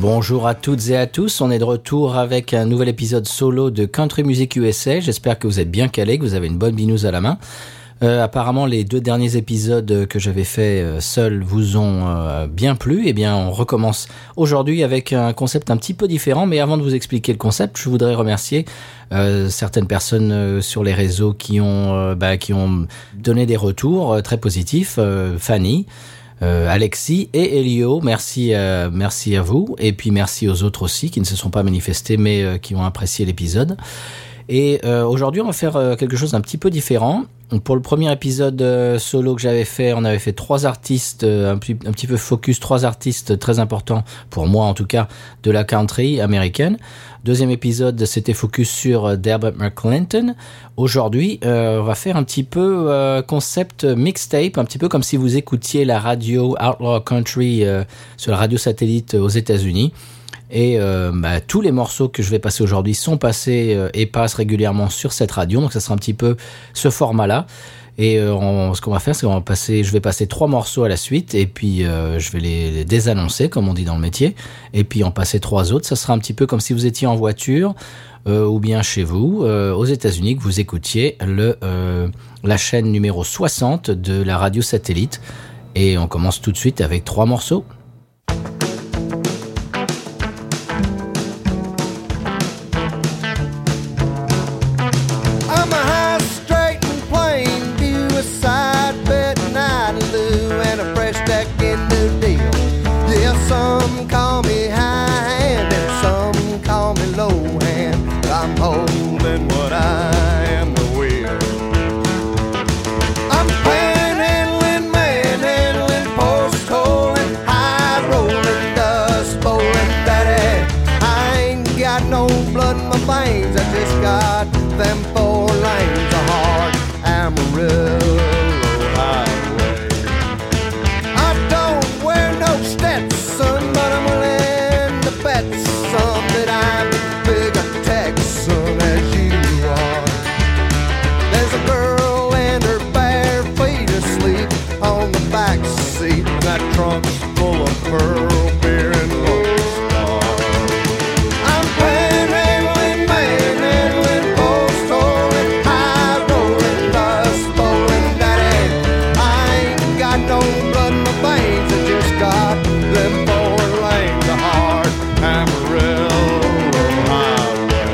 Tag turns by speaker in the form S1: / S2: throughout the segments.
S1: Bonjour à toutes et à tous, on est de retour avec un nouvel épisode solo de Country Music USA. J'espère que vous êtes bien calés, que vous avez une bonne binouse à la main. Apparemment, les 2 derniers épisodes que j'avais fait seul vous ont bien plu. Eh bien, on recommence aujourd'hui avec un concept un petit peu différent. Mais avant de vous expliquer le concept, je voudrais remercier certaines personnes sur les réseaux qui ont donné des retours très positifs. Fanny, Alexis et Elio, merci à vous. Et puis merci aux autres aussi qui ne se sont pas manifestés mais qui ont apprécié l'épisode. Et aujourd'hui, on va faire quelque chose d'un petit peu différent. Pour le premier épisode solo que j'avais fait, on avait fait 3 artistes, un petit peu focus, 3 artistes très importants, pour moi en tout cas, de la country américaine. Deuxième épisode, c'était focus sur Delbert McClinton. Aujourd'hui, on va faire un petit peu concept mixtape, un petit peu comme si vous écoutiez la radio Outlaw Country sur la radio satellite aux États-Unis. Et tous les morceaux que je vais passer aujourd'hui sont passés et passent régulièrement sur cette radio, donc ça sera un petit peu ce format-là. Et ce qu'on va faire, c'est je vais passer 3 morceaux à la suite, et puis je vais les désannoncer, comme on dit dans le métier, et puis en passer 3 autres. Ça sera un petit peu comme si vous étiez en voiture ou bien chez vous, aux États-Unis, que vous écoutiez la chaîne numéro 60 de la radio satellite. Et on commence tout de suite avec 3 morceaux.
S2: Some call me high hand and some call me low hand. I'm holding what I am the wheel. I'm panhandling, manhandling, post holing, high rolling, dust bowling, daddy. I ain't got no blood in my veins. I just got them 4 lanes of hard Amarillo highway. I don't wear no Stetson, but I'm willing to bet some that I'm as big a Texan as you are. There's a girl and her bare feet asleep on the back seat. That trunk's full of pearl beer and Lone Star. I'm panhandling, manhandling, post holing, high rolling, dust bowling, daddy. I ain't got no blood in my veins. I just got them 4 lanes of hard Amarillo highway.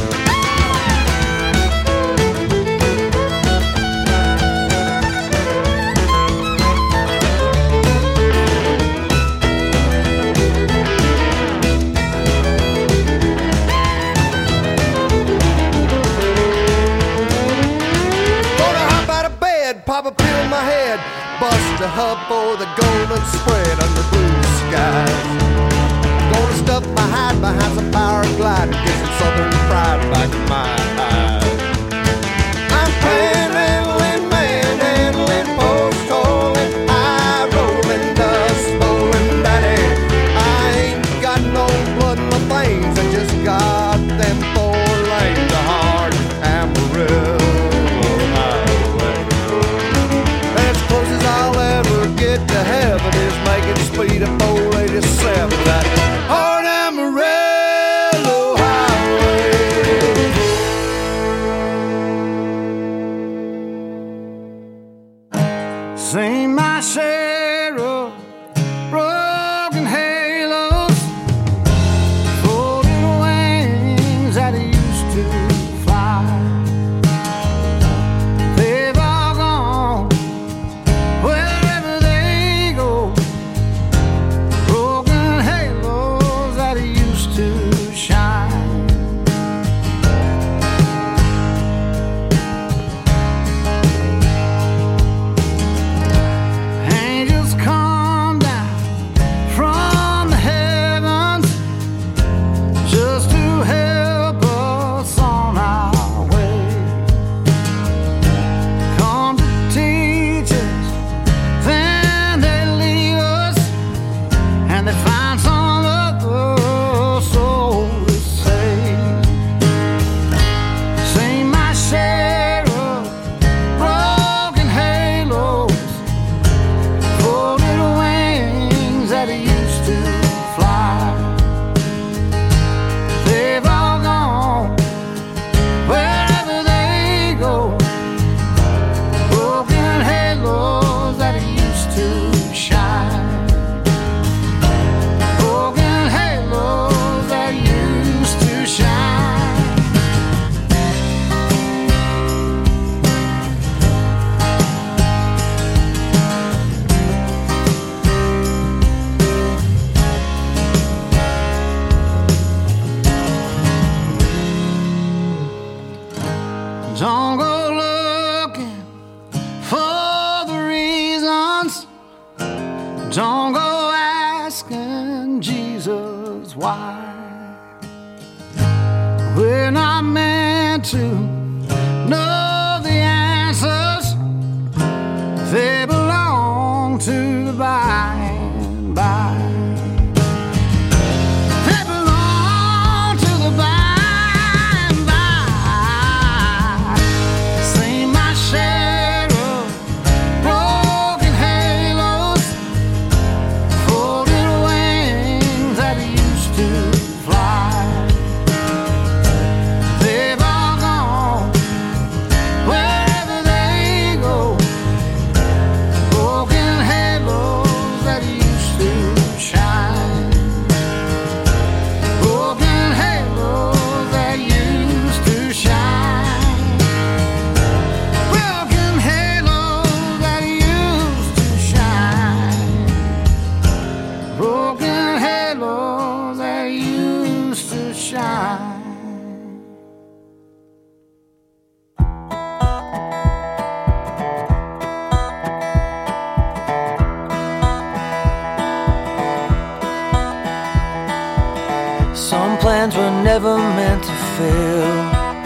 S2: Gonna hop out of bed, pop a pill in my head, bust a hub for the golden spread under blue skies. Gonna stuff my hide behind some power glide and get some southern pride back in my eyes. I'm panhandling, manhandling, post holing, high rolling, dust bowling, daddy. I ain't got no blood in my veins. I just got them 4 lanes of hard Amarillo highway. As close as I'll ever get to heaven is making speed at 487. That hard Amarillo highway. Don't go asking Jesus why. We're not meant to know the answers. They belong to the by and by. They belong to the by and by. Seen my share of broken halos, folded wings that used to fly. They've all gone wherever they go. Broken halos that used to shine. Broken halos that used to shine. Broken halos that used to shine. Broken halos that used to shine. Some plans were never meant to fail.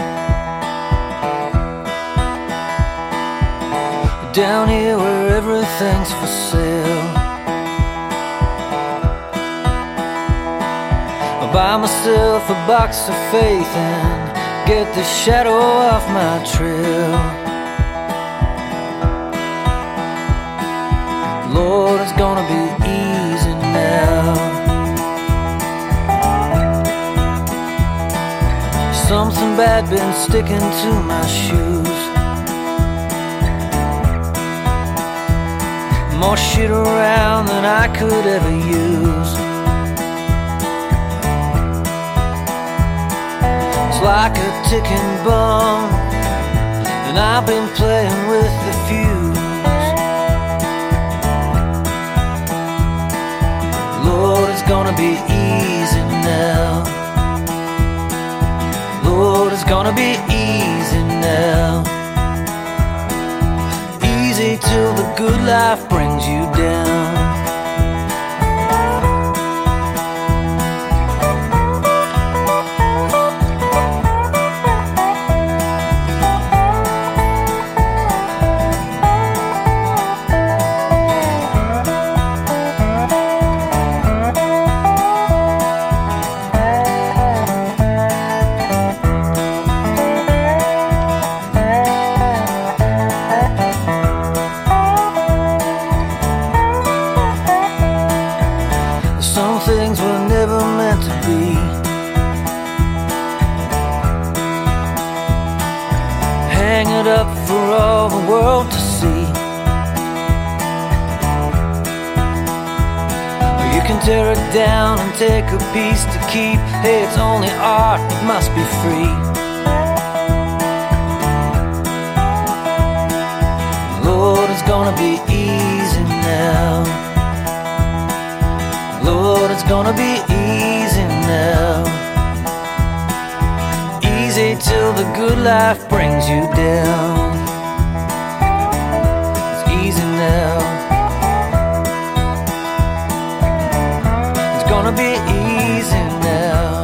S2: Down here where everything's for sale, I'll buy myself a box of faith and get the shadow off my trail. Lord, it's gonna be easy now. Something bad been sticking to my shoes. More shit around than I could ever use. It's like a ticking bomb, and I've been playing with the fuse. Lord, it's gonna be easy now. Lord, it's gonna be easy now. Easy till the good life brings you down. Some things were never meant to be. Hang it up for all the world to see. Or you can tear it down and take a piece to keep. Hey, it's only art, it must be free. Lord, it's gonna be easy now. Lord, it's gonna be easy now. Easy till the good life brings you down. It's easy now. It's gonna be easy now.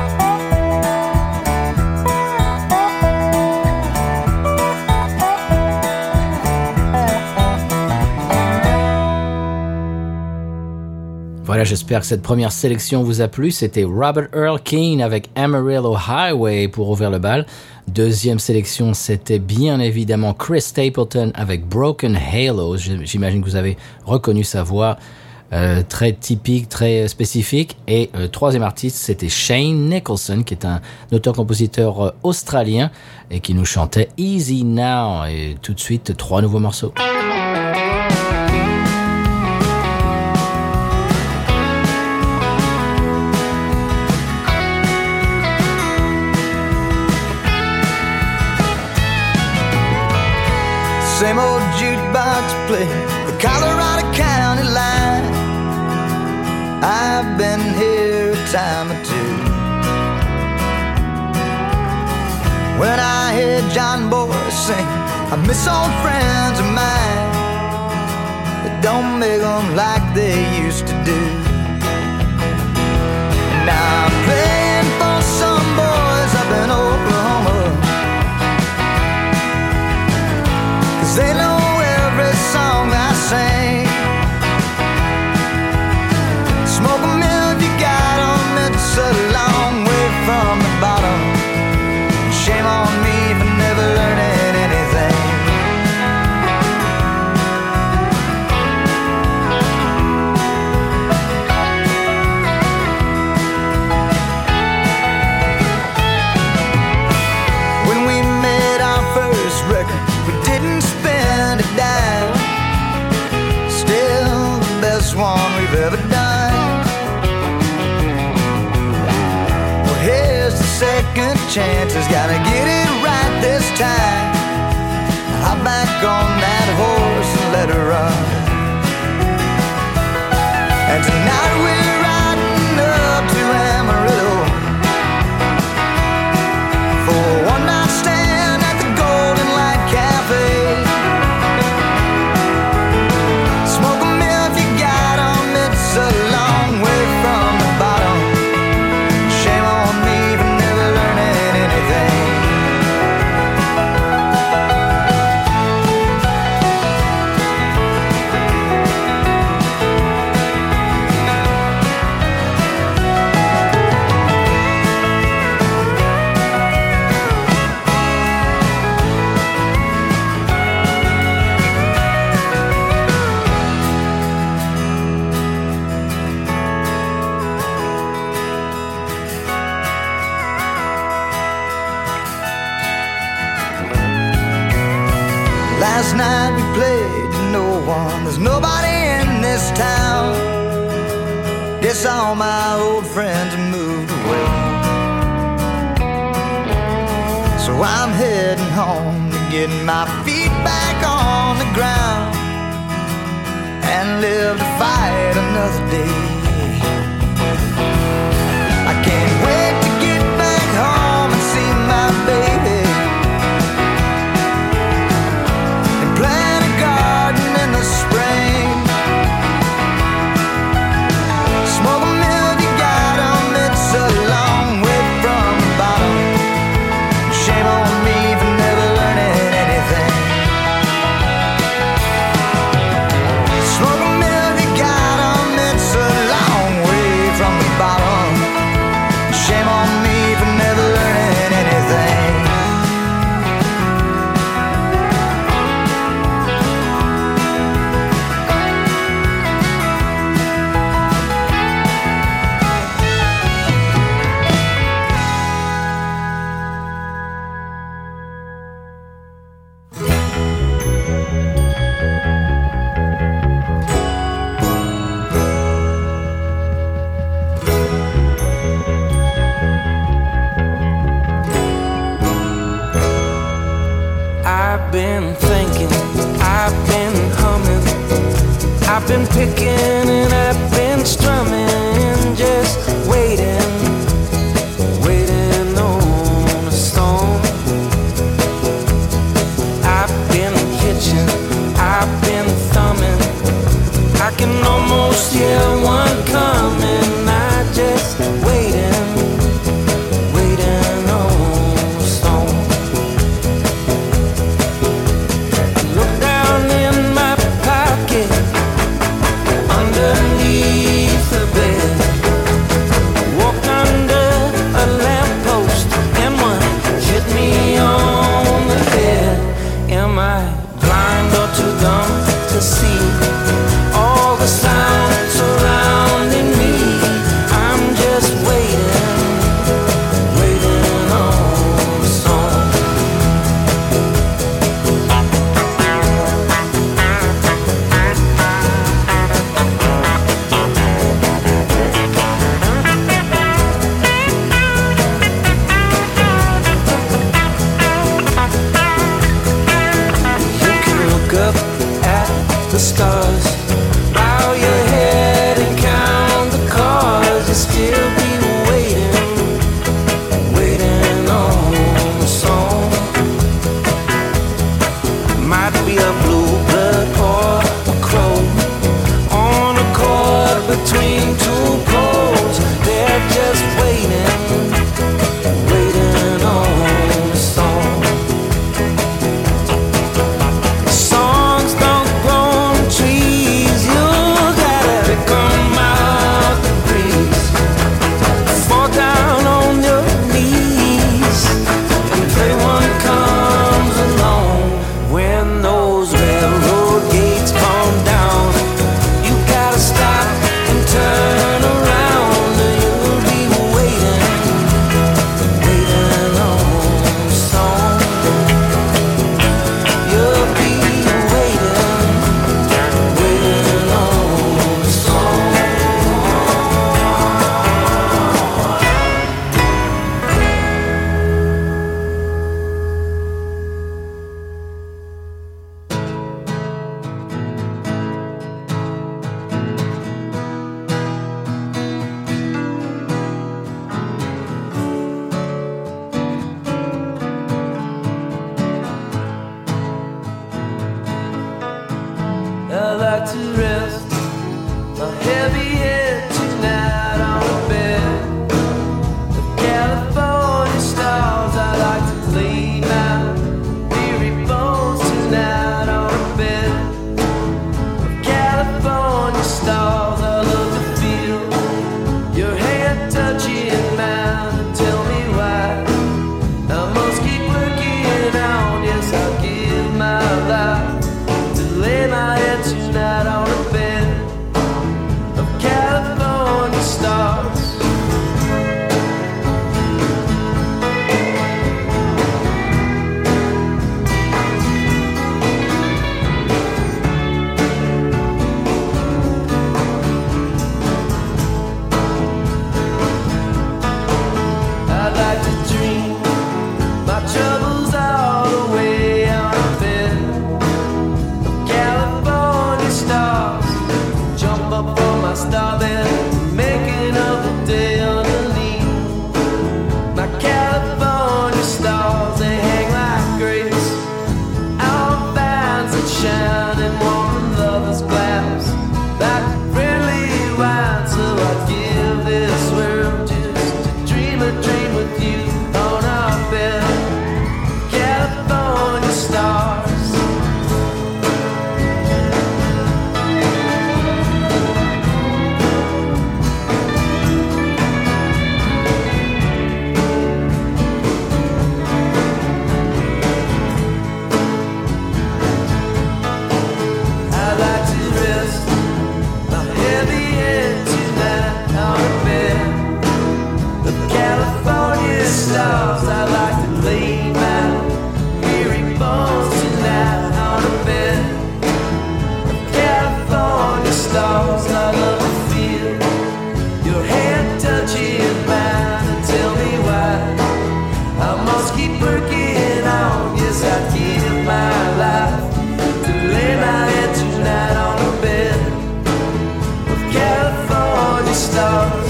S1: Voilà, j'espère que cette première sélection vous a plu. C'était Robert Earl Keen avec Amarillo Highway pour ouvrir le bal. Deuxième sélection, c'était bien évidemment Chris Stapleton avec Broken Halos. J'imagine que vous avez reconnu sa voix très typique, très spécifique. Et le troisième artiste, c'était Shane Nicholson, qui est un auteur-compositeur australien et qui nous chantait Easy Now. Et tout de suite, 3 nouveaux morceaux.
S2: Same old jukebox play the Colorado County line. I've been here a time or two. When I hear John Boy sing, I miss old friends of mine that don't make them like they used to do. Now I'm playing for some boys up in Oklahoma, 'cause they know every song I sing. Smoke 'em if you got 'em, it's a long way from the bottom. Shame on me for never learning anything. When we made our first record, we didn't spend a dime. Still the best one we've ever done. Well, here's the second chance, has gotta get it right this time. Hop back on that horse and let her run. And tonight we're riding up to Amarillo for a one night stand at the Golden Light Cafe. Smoke 'em if you got 'em, it's a long way from the bottom. Shame on me for never learning anything. Last night we played to no one. There's nobody in this town. Guess all my old friends have moved away. So I'm heading home to get my feet back on the ground and live to fight another day. I can't wait to get back home and see my baby. Plant a garden in the spring. Smoke 'em if you got 'em, it's a long way from the bottom. Shame on me for never learning anything. Smoke 'em if you got 'em, it's a long way from the bottom. Shame on me for never learning anything.
S3: I've been thinking, I've been humming, I've been picking and I've been strumming, just waiting, waiting on a storm. I've been pitching, I've been thumbing, I can almost hear one coming. I just waiting, waiting on a storm. Look down in my pocket, underneath the between two poles. They're just waiting, waiting on a song. Songs don't grow on trees. You gotta pick 'em out the breeze. Fall down on your knees and pray one comes along. When those railroad gates come down, you gotta stop and turn around. You'll be waiting, waiting on a song. You'll be waiting, waiting on a song. I like to rest my heavy head tonight on a bed of California stars. I like to lay my weary bones tonight on a bed of California stars. I love to feel your hand touching mine and tell me why I must keep working on. Yes, I'll give my life to lay my head tonight on a bed of California stars. I like to dream my troubles all away on a bed of California stars. Jump up on my starbed, making up the day underneath my California stars. They hang like grapes on vines that shine and warm in lovers' glass like friendly wine. So I give this world just to dream a dream with you on our bed, California stars. I like to rest my heavy head tonight on a bed of California stars. I like to lay my weary bones tonight on a bed of California stars. I love to feel your hand touching mine and tell me why I must keep working on. Yes, I'd give my life to lay my head tonight on a bed of California stars.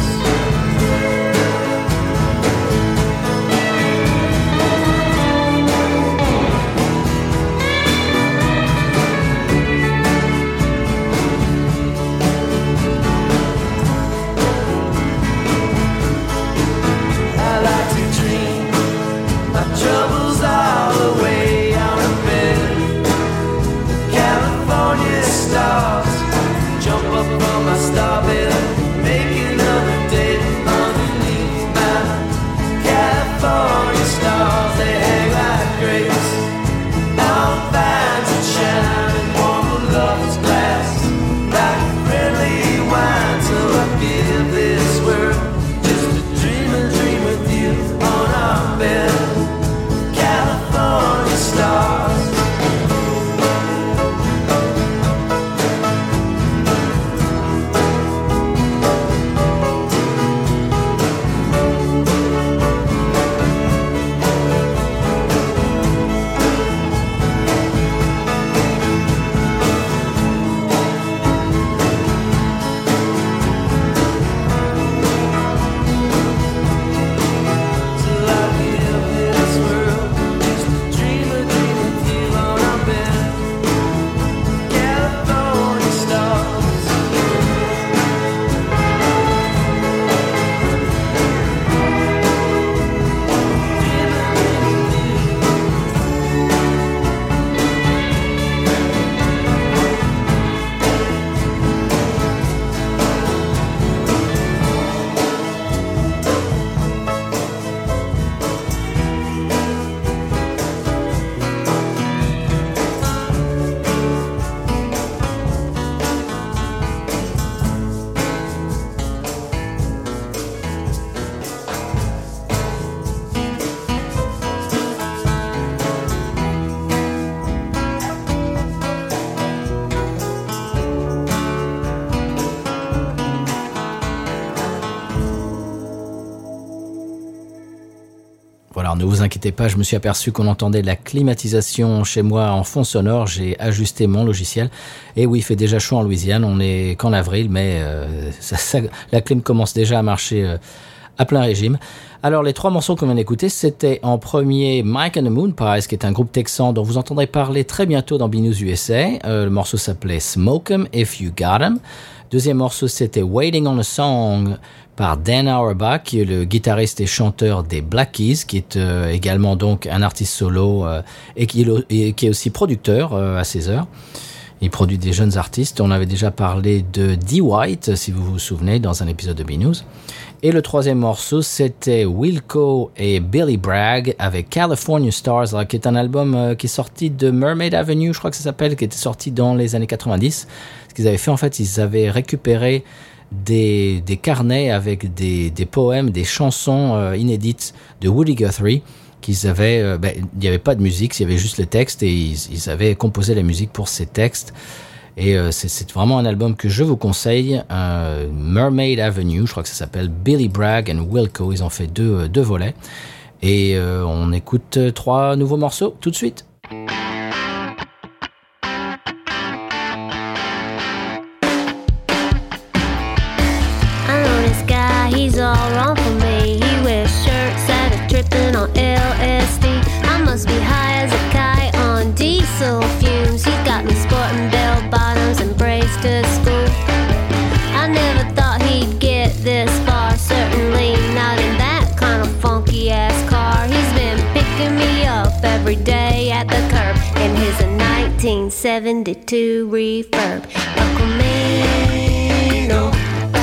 S1: Voilà, ne vous inquiétez pas, je me suis aperçu qu'on entendait la climatisation chez moi en fond sonore. J'ai ajusté mon logiciel. Et oui, il fait déjà chaud en Louisiane. On est qu'en avril, mais la clim commence déjà à marcher à plein régime. Alors, les 3 morceaux qu'on vient d'écouter, c'était en premier Mike and the Moon Pies, qui est un groupe texan dont vous entendrez parler très bientôt dans B-News USA. Le morceau s'appelait Smoke 'em If You Got 'em. Deuxième morceau, c'était Waiting on a Song par Dan Auerbach, qui est le guitariste et chanteur des Black Keys, qui est également donc un artiste solo et qui est aussi producteur à ses heures. Il produit des jeunes artistes. On avait déjà parlé de Dee White, si vous vous souvenez, dans un épisode de B-News. Et le troisième morceau, c'était Wilco et Billy Bragg avec California Stars, qui est un album qui est sorti de Mermaid Avenue, je crois que ça s'appelle, qui était sorti dans les années 90. Ce qu'ils avaient fait, en fait, ils avaient récupéré des carnets avec des poèmes, des chansons inédites de Woody Guthrie qu'ils avaient, il n'y avait pas de musique, il y avait juste les textes et ils avaient composé la musique pour ces textes. Et c'est vraiment un album que je vous conseille, Mermaid Avenue, je crois que ça s'appelle, Billy Bragg and Wilco, ils ont fait deux volets. Et on écoute 3 nouveaux morceaux tout de suite.
S4: He's all wrong for me. He wears shirts that are tripping on LSD. I must be high as a kite on diesel fumes. He's got me sporting bell bottoms and braids to school. I never thought he'd get this far, certainly not in that kind of funky ass car. He's been picking me up every day at the curb in his 1972 Refurb. El Camino.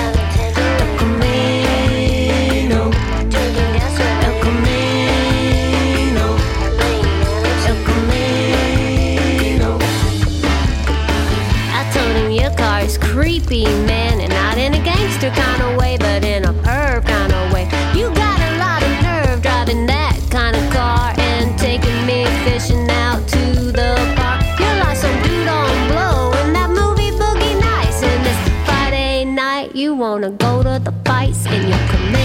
S4: Creepy, man, and not in a gangster kind of way, but in a perv kind of way. You got a lot of nerve driving that kind of car and taking me fishing out to the park. You're like some dude on blow in that movie Boogie Nights. And this Friday night, you wanna go to the fights in your Camino.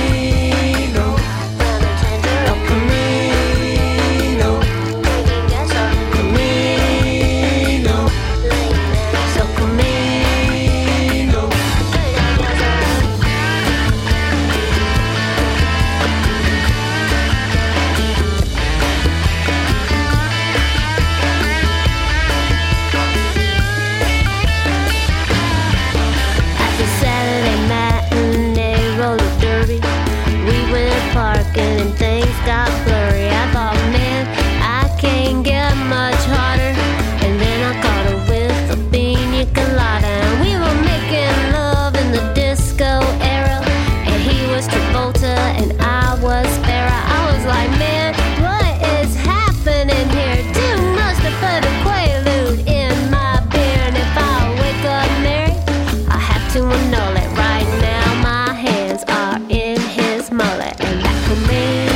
S4: And things got blurry. I thought, man, I can't get much harder. And then I caught her with a pina colada. And we were making love in the disco era. And he was Travolta and I was Farrah. I was like, man, what is happening here? Dude must have put a Quaalude in my beer. And if I wake up married, I have to annul it. Right now my hands are in his mullet. And that Camino,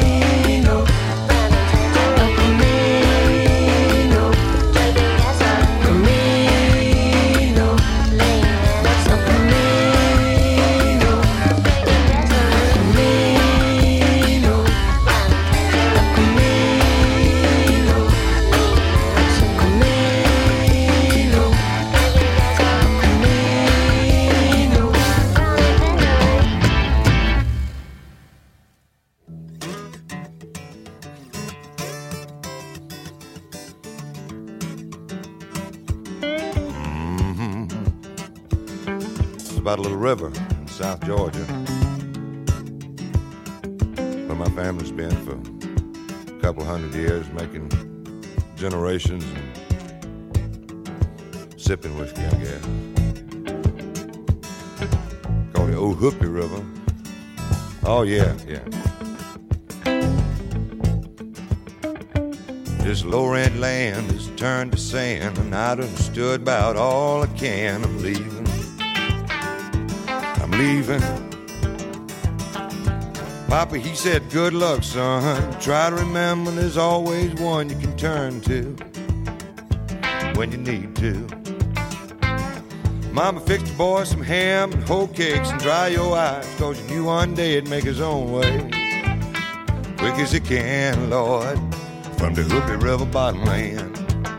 S5: about a little river in South Georgia where my family's been for a couple 100 years, making generations and sipping whiskey, I guess. Called the Old Hoopie River. Oh, yeah. This low-rent land is turned to sand, and I done stood about all I can. I'm leaving. Papa, he said, good luck, son. Try to remember there's always one you can turn to when you need to. Mama fixed the boy some ham and whole cakes and dry your eyes, 'cause you knew one day he'd make his own way quick as you can, Lord, from the Hoopy River bottom land.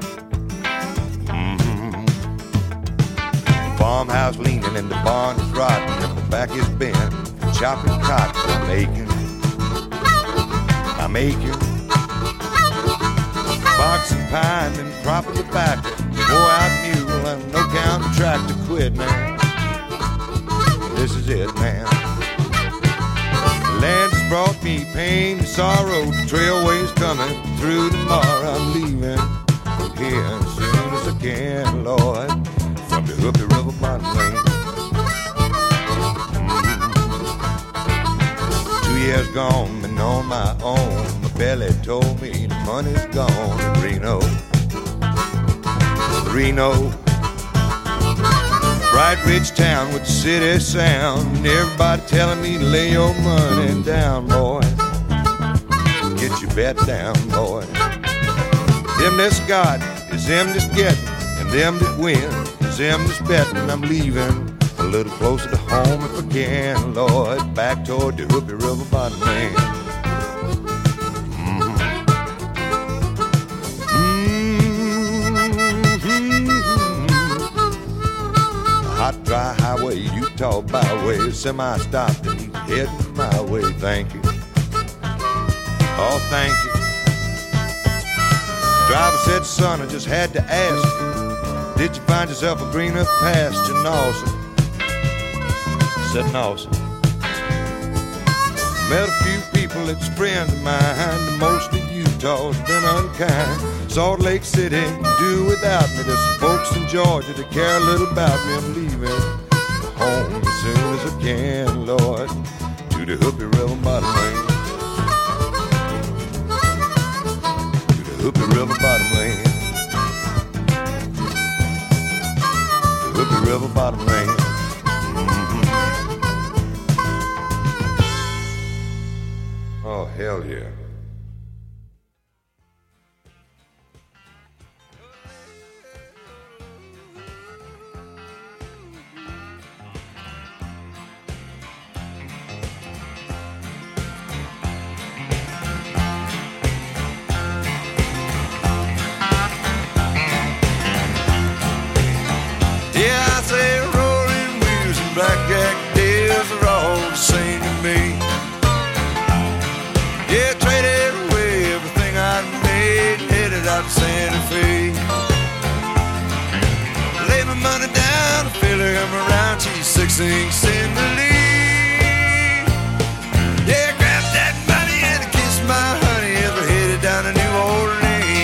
S5: Farmhouse leaning and the barn is rotting and the back is bent. Chopping cotton, I'm aching. Boxing pine and cropping tobacco. Wore out mule and no counting tractor. Quit, man. This is it, man. The land has brought me pain and sorrow. The trailway's coming through tomorrow. I'm leaving from here as soon as I can, Lord, from the Hoopy River bottom lane. 2 years gone, been on my own. My belly told me the money's gone in Reno. Reno, bright rich town with the city sound, and everybody telling me to lay your money down, boy. Get your bet down, boy. Them that's got is them that's getting, and them that win is them that's betting. I'm leaving a little closer to home if I can, Lord, back toward the Hoopy River bottom land. Hot, dry highway, Utah byway, semi-stopped and heading my way. Thank you. Oh, thank you. Driver said, son, I just had to ask you, did you find yourself a greener pasture? No, sir. Said no, sir. Met a few people that's friends of mine, and most of Utah's been unkind. Salt Lake City can do without me. There's some folks in Georgia that care a little about me. I'm leaving home as soon as I can, Lord, to the Hoopy River bottom lane. To the Hoopy River bottom lane. The Hoopy River bottom lane. Oh, hell yeah. Yeah, I say rolling wheels and blackjack deals are all the same to me. Yeah, traded away everything I'd made, headed out to Santa Fe. Lay my money down, feel her come around, she's 16, in the lead. Yeah, grab that money and kiss my honey as we're headed down to New Orleans.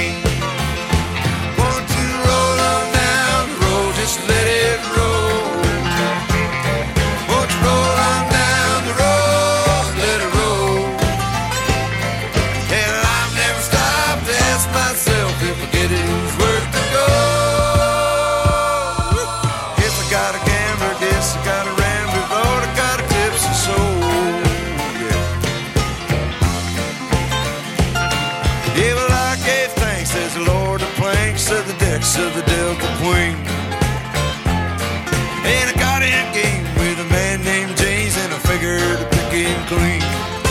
S5: Want to roll on down the road, just let it roll. Want to roll on down the road, let it roll. And I've never stopped to ask myself if I get it, who's worth the go. If I got a gambler, guess I got a rambler, Lord, I got a tipsy soul. Yeah, well, I gave thanks as the Lord of planks of the decks of the Delta Queen. And I got in game with a man named James, and I figured to pick him clean.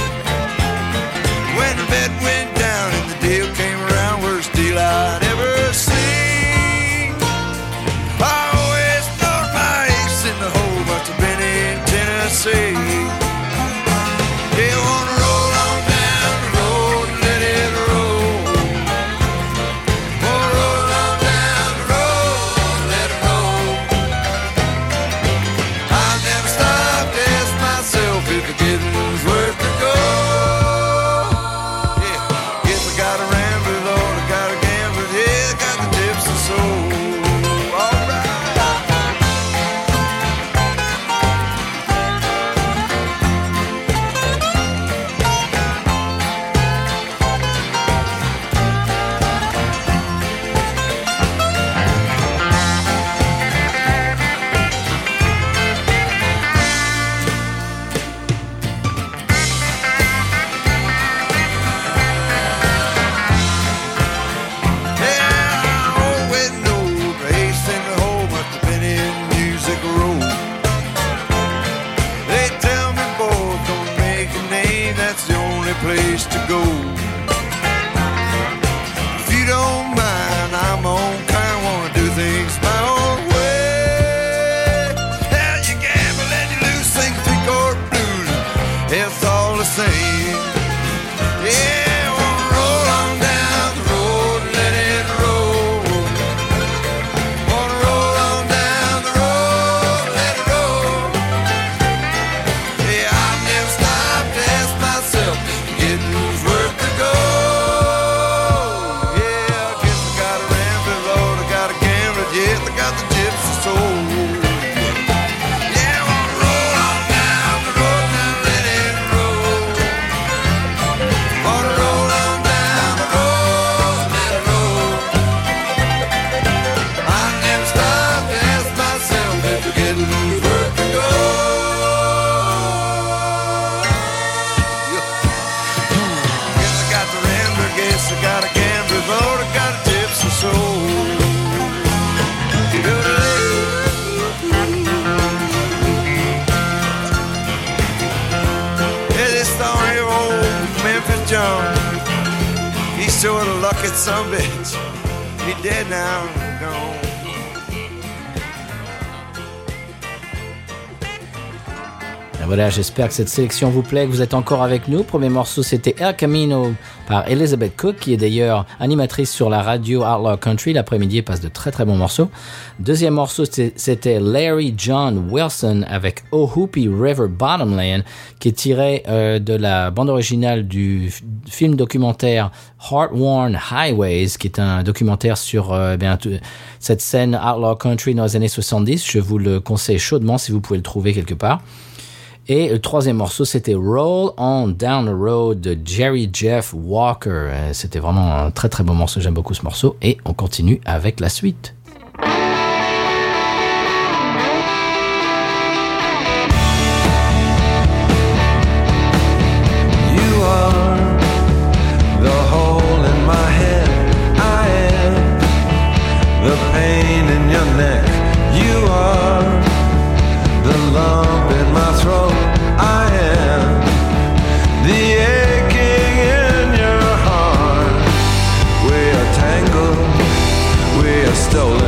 S5: When the bet went down and the deal came around, worst deal I'd ever seen. I always thought my ace in the hole must have been in Tennessee. Yeah, I wanna roll on down the road and let it roll. Wanna roll on down the road and let it roll. I've never stopped to ask myself if the getting's worth the go. Yeah, if I got a rambler, Lord, I got a gambler, yeah, I got the tips and soul. All right. place to go. If you don't mind, I'm on kind of wanna do things my own way. Hell, you gamble and you lose, sing three-chord blues, it's all the same. Yeah, wanna roll on down the road and let it roll. Wanna roll on down the road, let it roll. Yeah, I've never stopped to ask myself, getting who's worth the go. Yeah, I guess I got a rambler load, I got a gambler jet, I got the gypsy soul. Yeah, wanna roll on down the road and let it roll. Wanna roll on down the road, let it roll. I never stop to ask myself if you're getting who's worth the go. Guess I got the rambler, guess I got a gambler road, I got a gypsy soul. Yeah, this story of old Memphis John, he's sort of lucky some bitch. He dead now, gone.
S1: Et voilà, j'espère que cette sélection vous plaît, que vous êtes encore avec nous. Premier morceau, c'était El Camino par Elizabeth Cook, qui est d'ailleurs animatrice sur la radio Outlaw Country. L'après-midi, elle passe de très très bons morceaux. Deuxième morceau, c'était Larry John Wilson avec Oh Hoopy River Bottomland, qui est tiré de la bande originale du film documentaire Heart-Worn Highways, qui est un documentaire sur cette scène Outlaw Country dans les années 70. Je vous le conseille chaudement si vous pouvez le trouver quelque part. Et le troisième morceau, c'était Roll On Down the Road de Jerry Jeff Walker. C'était vraiment un très très beau morceau, j'aime beaucoup ce morceau. Et on continue avec la suite.
S3: You are the hole in my head. I am the pain in your neck. You are the lump in my throat. I am the aching in your heart. We are tangled, we are stolen.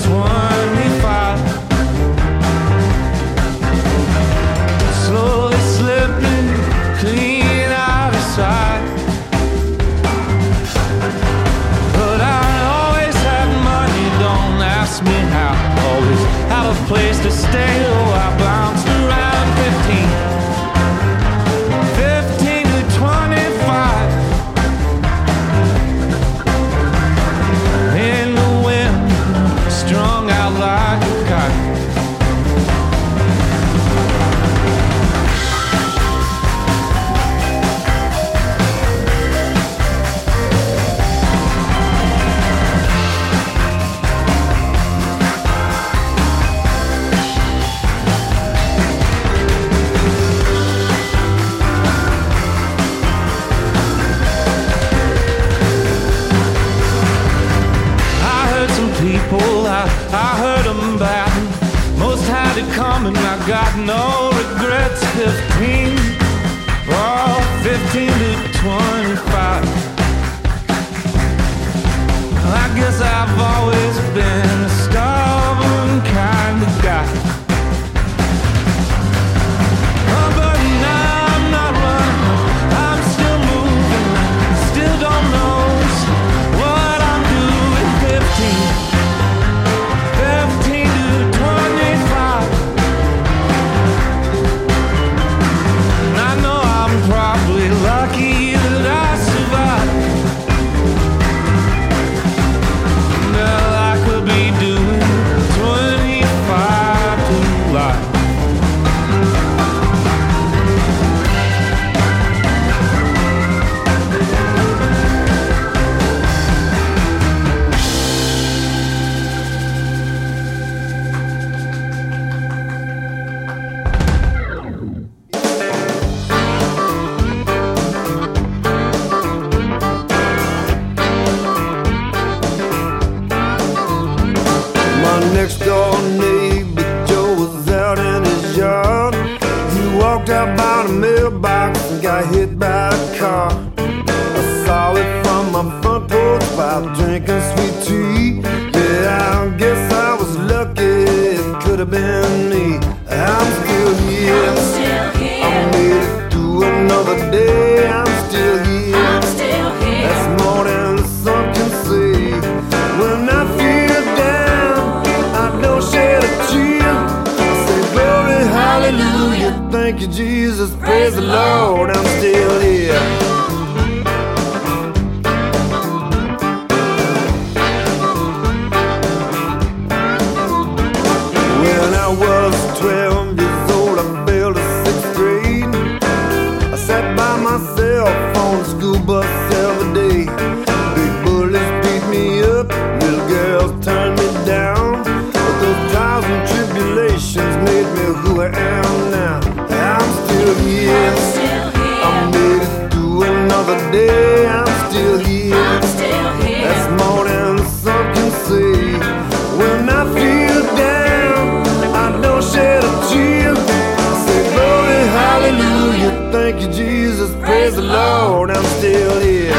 S3: 25. Slowly slipping clean out of sight. But I always had money, don't ask me how. Always have a place to stay, oh I bounced around 15 to 25. In the wind, strung out like a kite. I heard them bad. Most had it coming, I got no regrets. 15, oh, 15 to 25. I guess I've always been a stubborn kind of guy. Oh, but now I'm not running, I'm still moving. Still don't know what I'm doing. 15 to 25. I know I'm probably lucky that I survived. Well, I could be doing 25 to life.
S2: Next door neighbor Joe was out in his yard. He walked out by the mailbox and got hit by a car. I saw it from my front porch while drinking sweet tea. Yeah, I guess I was lucky, it could have been me. I'm still here, I made it through another day. I'm still here, that's more than the sun can say. When I feel down, I don't shed a tear. I say glory, hallelujah, thank you Jesus, praise the Lord, I'm still here. When I was 12 years old, I failed the 6th grade. I sat by myself on the school bus every day. Big bullies beat me up, little girls turned me down. But those trials and tribulations made me who I am now. I'm still here, I made it through another day. I'm still here, that's more than the sun can say. When I feel down, I don't shed a tear. I say glory, hallelujah, thank you Jesus, praise the Lord, I'm still here.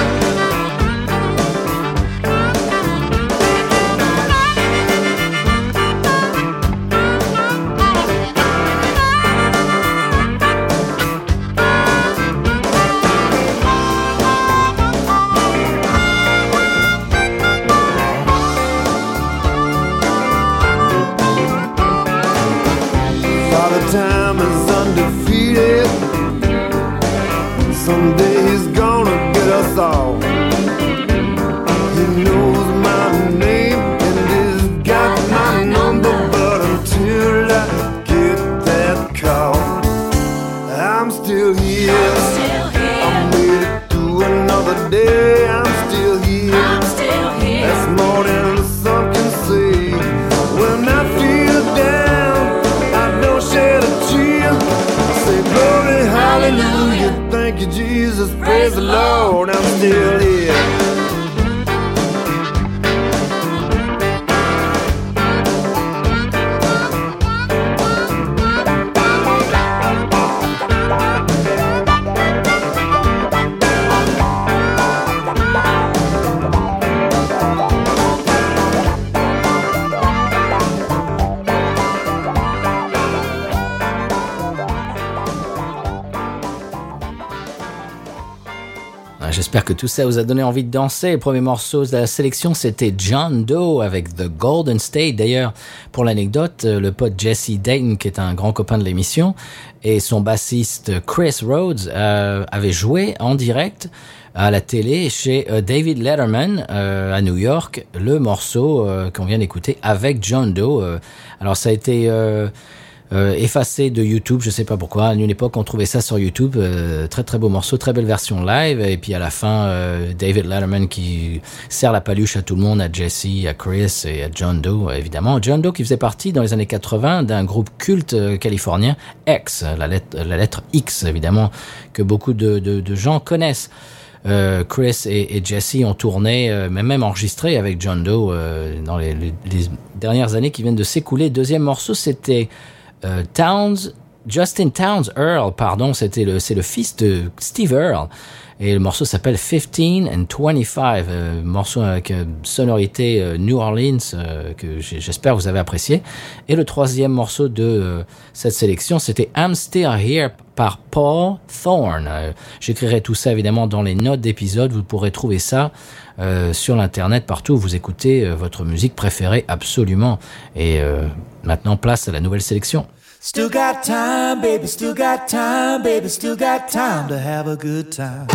S1: J'espère que tout ça vous a donné envie de danser. Le premier morceau de la sélection, c'était John Doe avec The Golden State. D'ailleurs, pour l'anecdote, le pote Jesse Dayton, qui est un grand copain de l'émission, et son bassiste Chris Rhodes avaient joué en direct à la télé chez David Letterman à New York, le morceau qu'on vient d'écouter avec John Doe. Alors ça a été effacé de YouTube, je sais pas pourquoi. À une époque, on trouvait ça sur YouTube. Très très beau morceau, très belle version live. Et puis à la fin, David Letterman qui sert la paluche à tout le monde, à Jesse, à Chris et à John Doe, évidemment. John Doe qui faisait partie dans les années 80 d'un groupe culte californien, X, la lettre X évidemment, que beaucoup de gens connaissent. Chris et Jesse ont tourné, même enregistré avec John Doe dans les dernières années qui viennent de s'écouler. Deuxième morceau, c'était Justin Townes Earl, pardon, c'est le fils de Steve Earle. Et le morceau s'appelle 15 and 25, morceau avec sonorité New Orleans que j'espère vous avez apprécié. Et le troisième morceau de cette sélection, c'était I'm Still Here par Paul Thorne. J'écrirai tout ça évidemment dans les notes d'épisode, vous pourrez trouver ça sur l'internet partout où vous écoutez votre musique préférée absolument. Et maintenant place à la nouvelle sélection.
S3: Still got time, baby, still got time, baby, still got time to have a good time.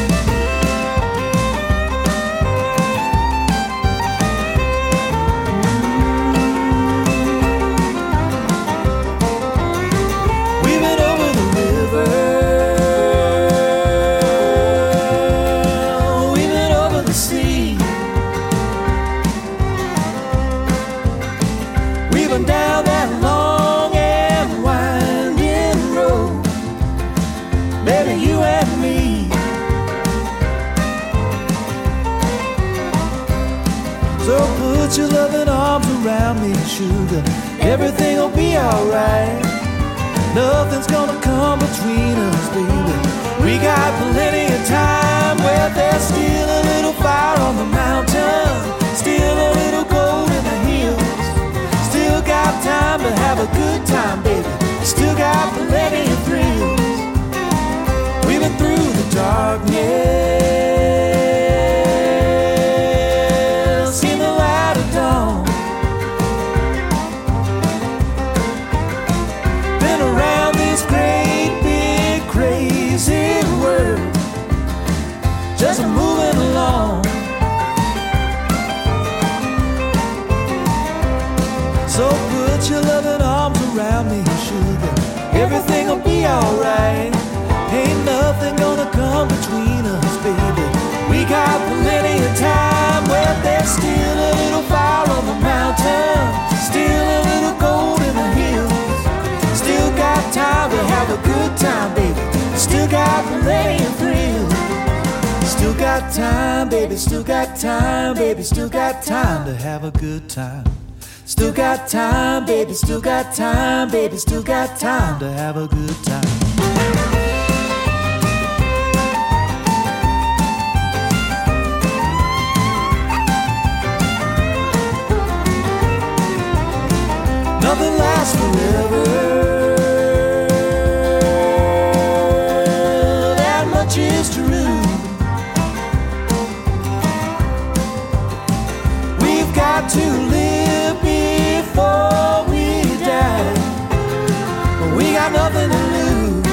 S3: We've been over the river, we've been over the sea, we've been down that long put your loving arms around me, sugar. Everything'll be alright. Nothing's gonna come between us, baby. We got plenty of time. Well, there's still a little fire on the mountain, still a little gold in the hills. Still got time to have a good time, baby. Still got plenty of thrills. We've been through the darkness, just moving along. So put your loving arms around me, sugar. Everything'll be alright. Ain't nothing gonna come between us, baby. We got plenty of time. Well, there's still a little fire on the mountain, still a little gold in the hills. Still got time to have a good time, baby. Still got plenty of thrills. Still got time, baby, still got time, baby, still got time to have a good time. Still got time, baby, still got time, baby, still got time to have a good time. Nothing lasts forever, that much is true. To live before we die, but we got nothing to lose.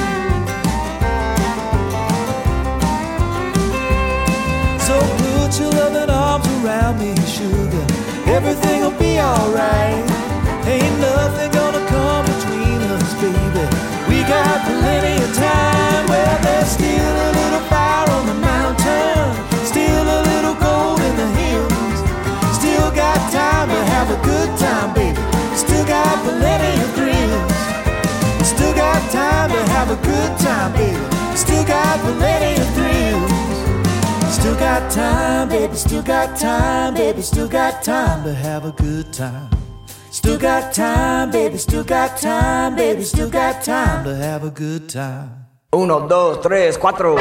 S3: So put your loving arms around me, sugar. Everything'll be alright. Ain't nothing gonna come between us, baby. We got plenty of time. Well, there's still a little fire on the mountain, still a little gold in the hills. Still got time to have a good time, baby. Still got plenty of thrills. Still got time to have a good time, baby. Still got plenty of thrills. Still got time, baby. Still got time, baby. Still got time to have a good time. Still got time, baby. Still got time, baby. Still got time to have a good time.
S6: 1, 2, 3, 4.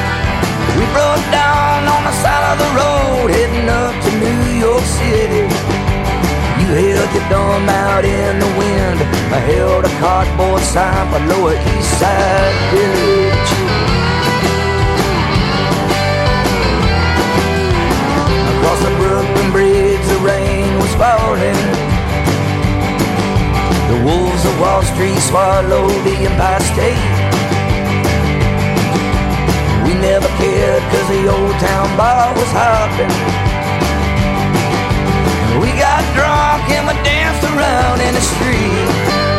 S6: Broke down on the side of the road, heading up to New York City.
S3: dumb out in the wind. I held a cardboard sign for Lower East Side Village. Across the Brooklyn Bridge, the rain was falling. The wolves of Wall Street swallowed the Empire State. We never cared cause the old town bar was hopping. We got drunk and we danced around in the street.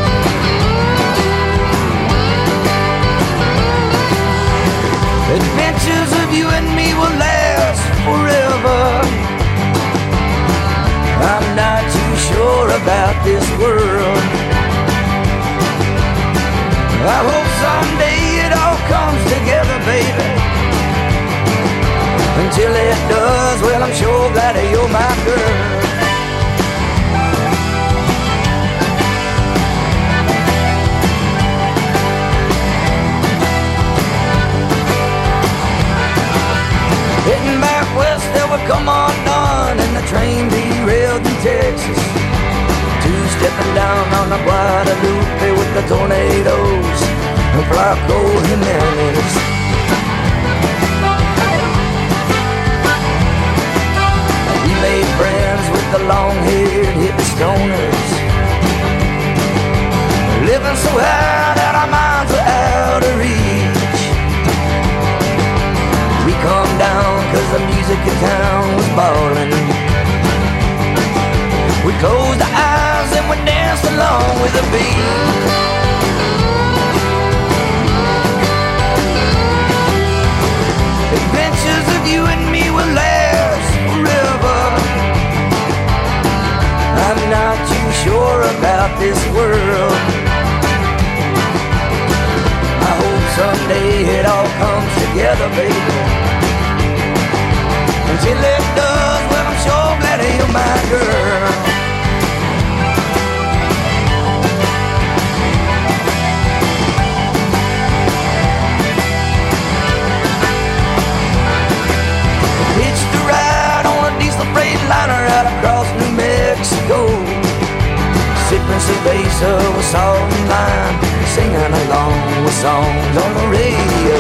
S3: Adventures of you and me will last forever. I'm not too sure about this world. I hope someday it all comes together, baby. Until it does, well, I'm sure glad that you're my girl. Heading back west, there would come on dawn, and the train derailed in Texas. Two-stepping down on the Guadalupe with the tornadoes and Flaco Jimenez. We made friends with the long-haired hippie stoners, living so high that our minds were out of reach. We calmed down cause the music in town was ballin'. We closed our eyes and we danced along with the beat. Adventures of you and me will last forever. I'm not too sure about this world. I hope someday it all comes together, baby. Until it does, well, I'm sure glad you're my girl. Hitched a ride on a diesel freight liner out across New Mexico, sipping cerveza with salt and lime, singing along with songs on the radio.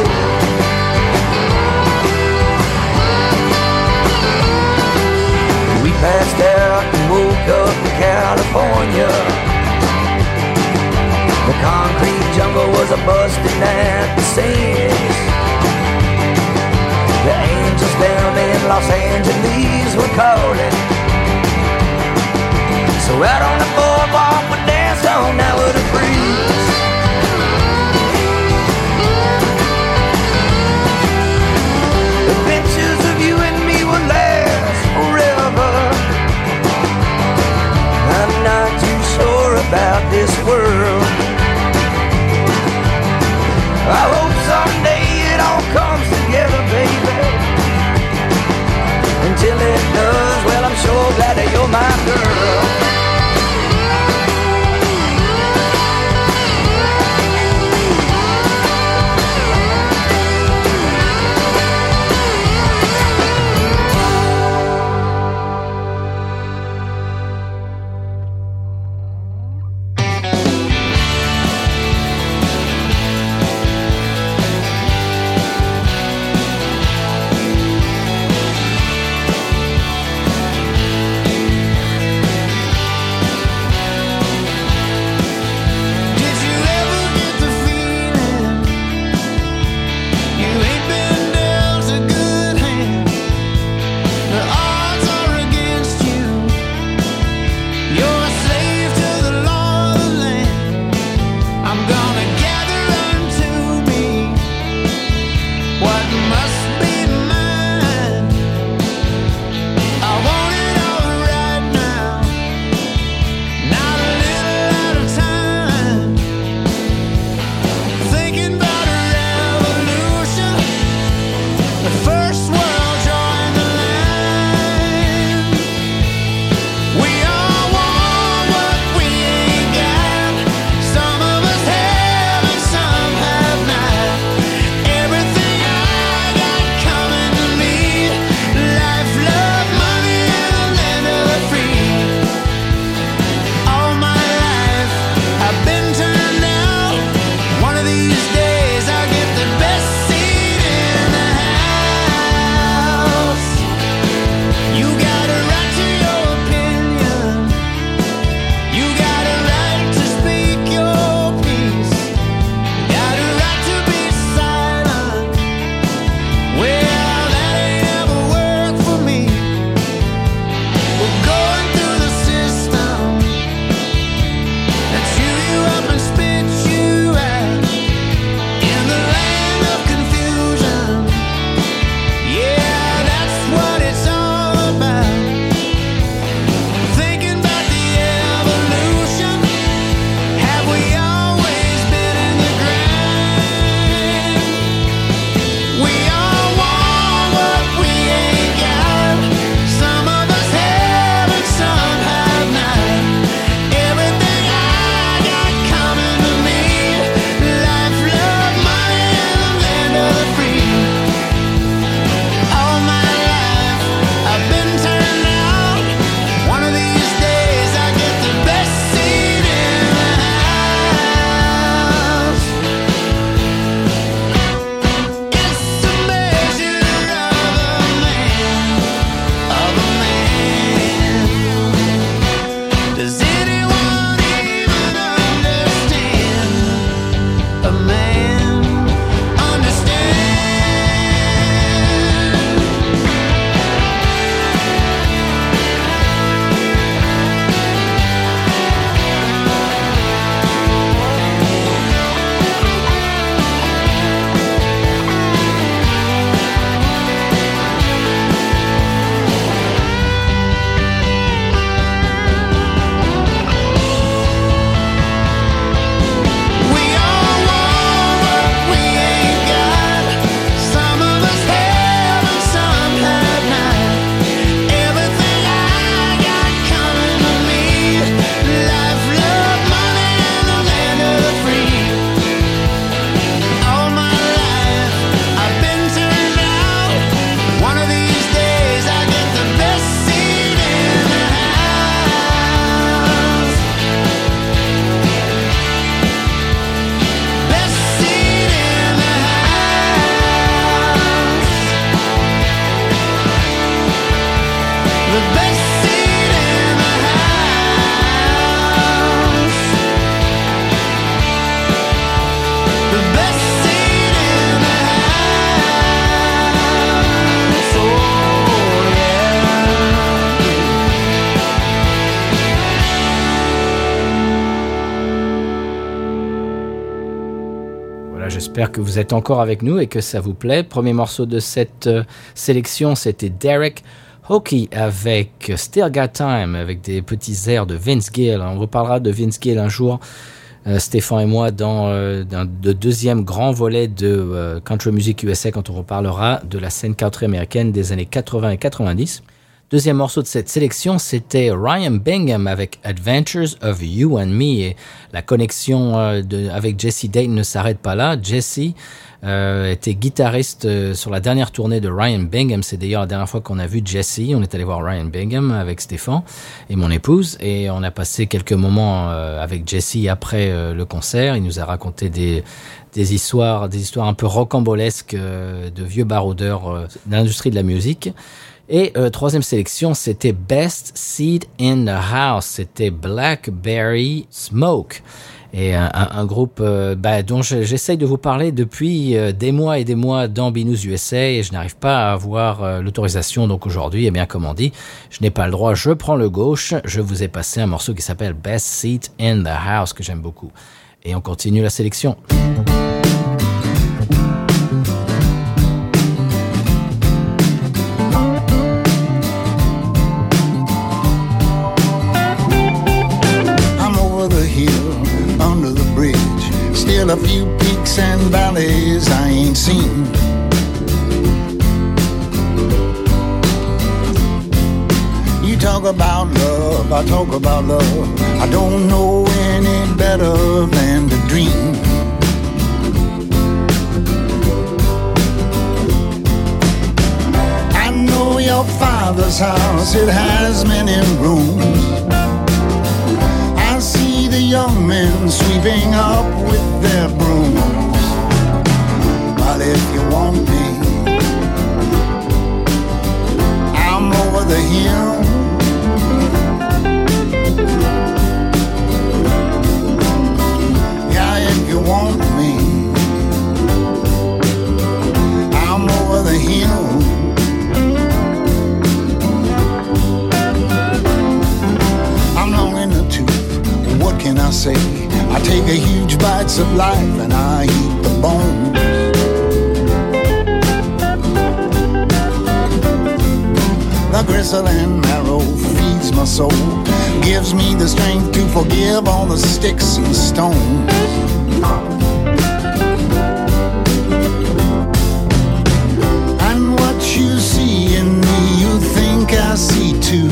S3: We passed out and woke up in California. The concrete jungle was a-busting at the seams. The angels down in Los Angeles were calling. So out on the boardwalk we danced on now with a breeze. Adventures of you and me will last forever. I'm not too sure about this world. I hope someday it all comes together, baby. Until it does, well, I'm sure glad that you're my girl. understand, understand. We all want what we ain't got. Some of us have and some have not. Everything I got coming to me. Life, love, money, and the land of the free. All my life I've been turned out. One of these days I get the best seat in the house. Best seat in the house. The best seat in the house. The best seat in the house. Oh yeah.
S1: Voilà, j'espère que vous êtes encore avec nous et que ça vous plaît. Premier morceau de cette sélection, c'était Derek Hockey avec Still Got Time, avec des petits airs de Vince Gill. On reparlera de Vince Gill un jour, Stéphane et moi, dans le deuxième grand volet de Country Music USA, quand on reparlera de la scène country américaine des années 80 et 90. Deuxième morceau de cette sélection, c'était Ryan Bingham avec Adventures of You and Me. Et la connexion avec Jesse Dayton ne s'arrête pas là. Jesse était guitariste sur la dernière tournée de Ryan Bingham. C'est d'ailleurs la dernière fois qu'on a vu Jesse. On est allé voir Ryan Bingham avec Stéphane et mon épouse. Et on a passé quelques moments avec Jesse après le concert. Il nous a raconté des histoires un peu rocambolesques de vieux baroudeurs de l'industrie de la musique. Et troisième sélection, c'était Best Seat in the House. C'était Blackberry Smoke. Et un groupe dont j'essaye de vous parler depuis des mois et des mois dans Binous USA et je n'arrive pas à avoir l'autorisation. Donc aujourd'hui, eh bien comme on dit, je n'ai pas le droit, je prends le gauche. Je vous ai passé un morceau qui s'appelle Best Seat in the House que j'aime beaucoup. Et on continue la sélection.
S7: Under the bridge, still a few peaks and valleys I ain't seen. You talk about love, I talk about love. I don't know any better than to dream. I know your father's house, it has many rooms. I see the young men sweeping up with their brooms. But if you want me, I'm over the hill. Yeah, if you want me, I'm over the hill. I'm long in the tooth. What can I say? I take a huge bites of life and I eat the bones. The gristle and marrow feeds my soul, gives me the strength to forgive all the sticks and stones. And what you see in me, you think I see too.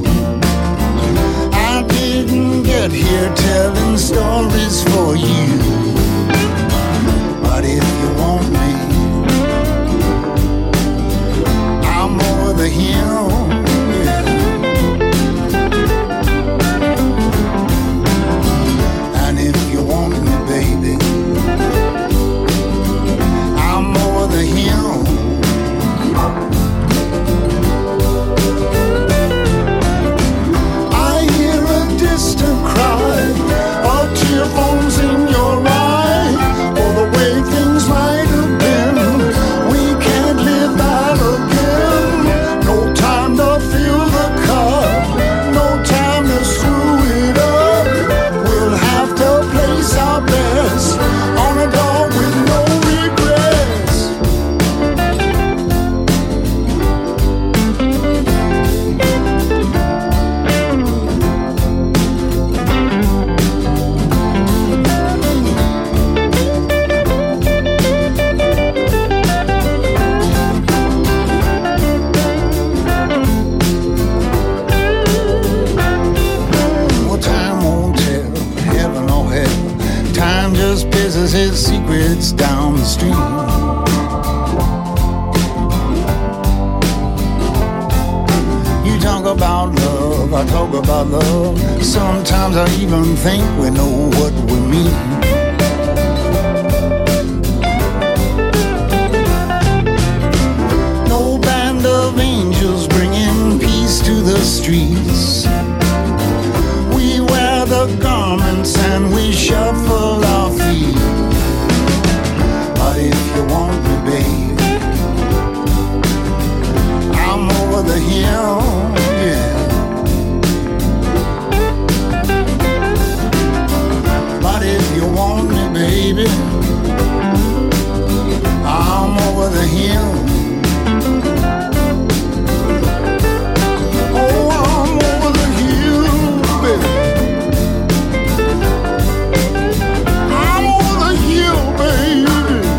S7: I didn't get here telling stories for you. But if you want me, I'm over the hill. And if you want me, baby, it's down the street. You talk about love, I talk about love. Sometimes I even think we know what we mean. No band of angels bringing peace to the streets. We wear the garments and we shuffle our feet. But if you want me, babe, I'm over the hill, yeah. But if you want me, baby, I'm over the hill. Oh, I'm over the hill, baby. I'm over the hill, baby.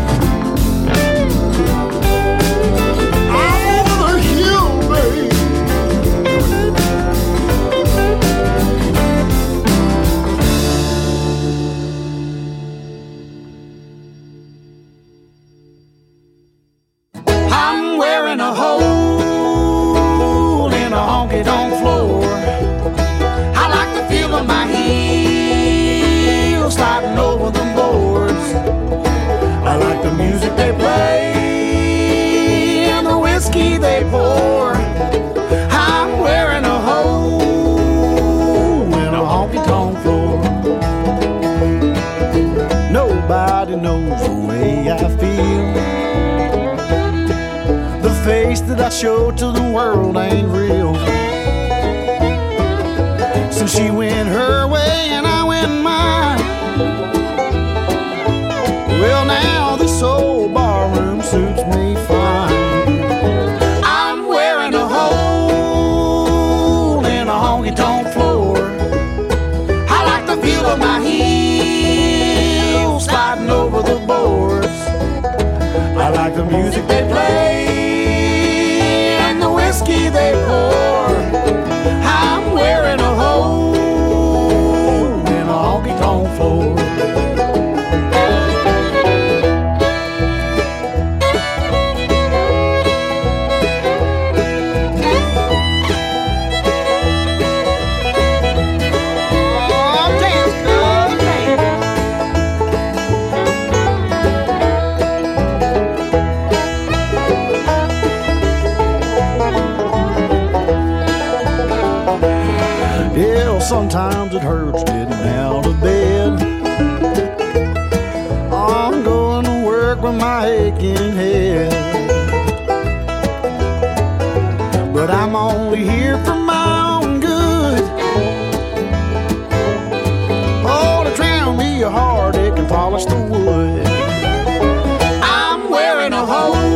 S7: I'm over the hill, baby. I'm wearing a hole in a honky-tonk floor. I like the feel of my heels sliding over the boards. I like the music they play and the whiskey they pour. I'm wearing a hole in a honky-tonk floor. Nobody knows the way I feel. The face that I show to the world ain't real. Since she went her way and I went mine, well now this old barroom suits me fine. I'm wearing a hole in a honky-tonk floor. I like the feel of my heels sliding over the boards. I like the music they play and the whiskey they pour. I'm wearing a hole in a honky-tonk floor. Sometimes it hurts getting out of bed. I'm going to work with my aching head, but I'm only here for my own good. Oh, to drown me a heartache and polish the wood. I'm wearing a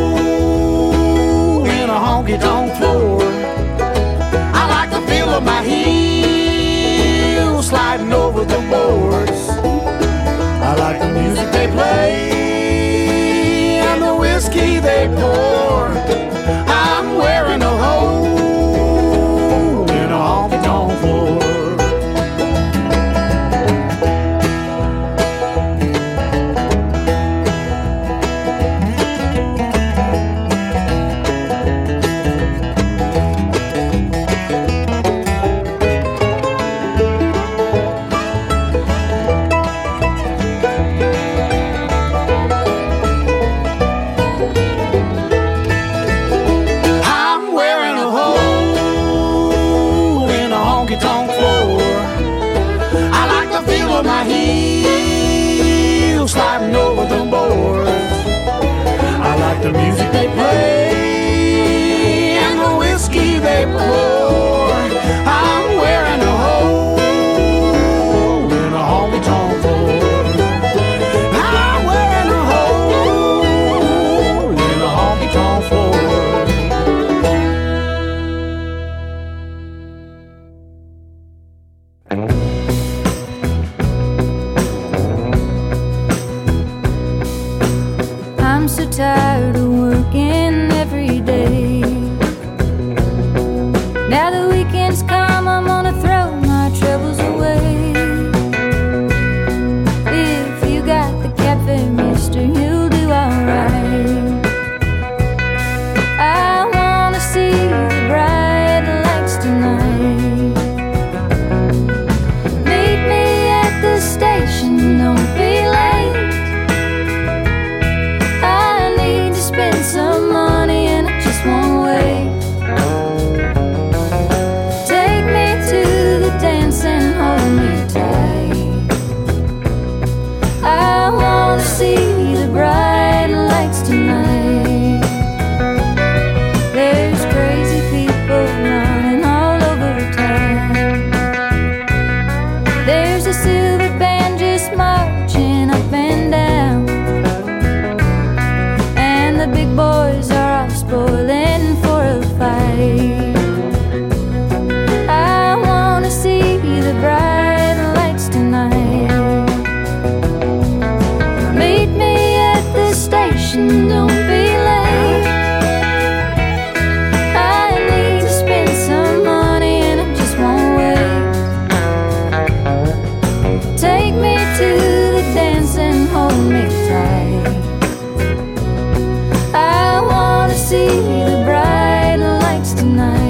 S7: hole in a honky-tonk floor. I like the feel of my heels sliding over the boards. I like the music they play and the whiskey they pour. I'm wearing a hole in a honky-tonk floor. My heels sliding over the boards. I like the music they play and the whiskey they pour. I'm wearing a hole in a honky-tonk floor. I'm wearing a hole in a honky-tonk floor.
S8: I'm so tired of working every day. Now the weekend's come, I'm gonna throw my troubles away. If you got the cafe, mister, station, don't be late. I need to spend some money and I just won't wait. Take me to the dance and hold me tight. I wanna see the bright lights tonight.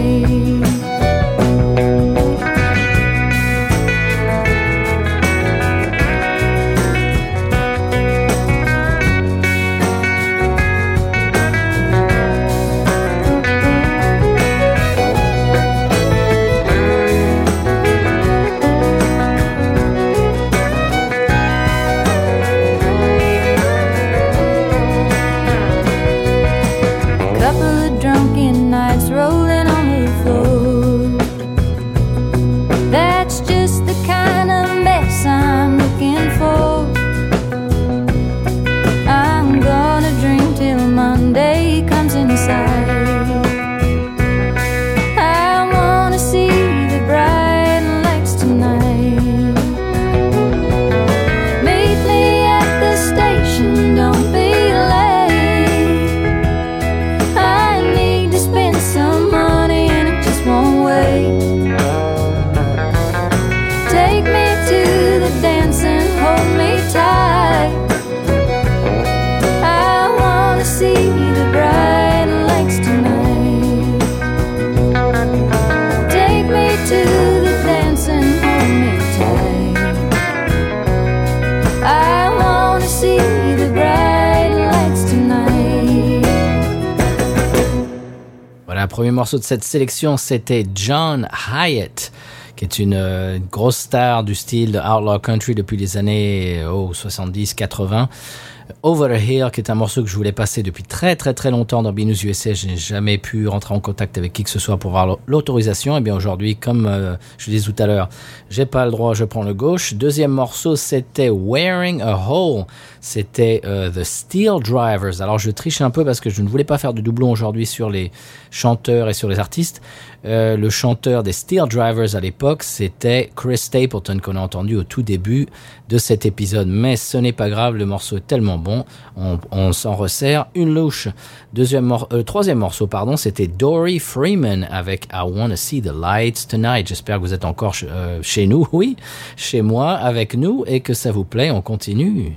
S1: Le premier morceau de cette sélection, c'était John Hyatt, qui est une grosse star du style de Outlaw Country depuis les années 70-80. Over the Hill, qui est un morceau que je voulais passer depuis très très très longtemps dans B-News USA. Je n'ai jamais pu rentrer en contact avec qui que ce soit pour avoir l'autorisation. Et bien aujourd'hui, comme je le disais tout à l'heure, j'ai pas le droit, je prends le gauche. Deuxième morceau, c'était Wearing a Hole. C'était The Steel Drivers. Alors je triche un peu parce que je ne voulais pas faire de doublon aujourd'hui sur les chanteurs et sur les artistes. Le chanteur des Steel Drivers à l'époque, c'était Chris Stapleton, qu'on a entendu au tout début de cet épisode. Mais ce n'est pas grave, le morceau est tellement bon, on s'en resserre une louche. Troisième morceau, c'était Dory Freeman avec I Wanna See the Lights Tonight. J'espère que vous êtes encore chez nous, oui, chez moi, avec nous, et que ça vous plaît. On continue.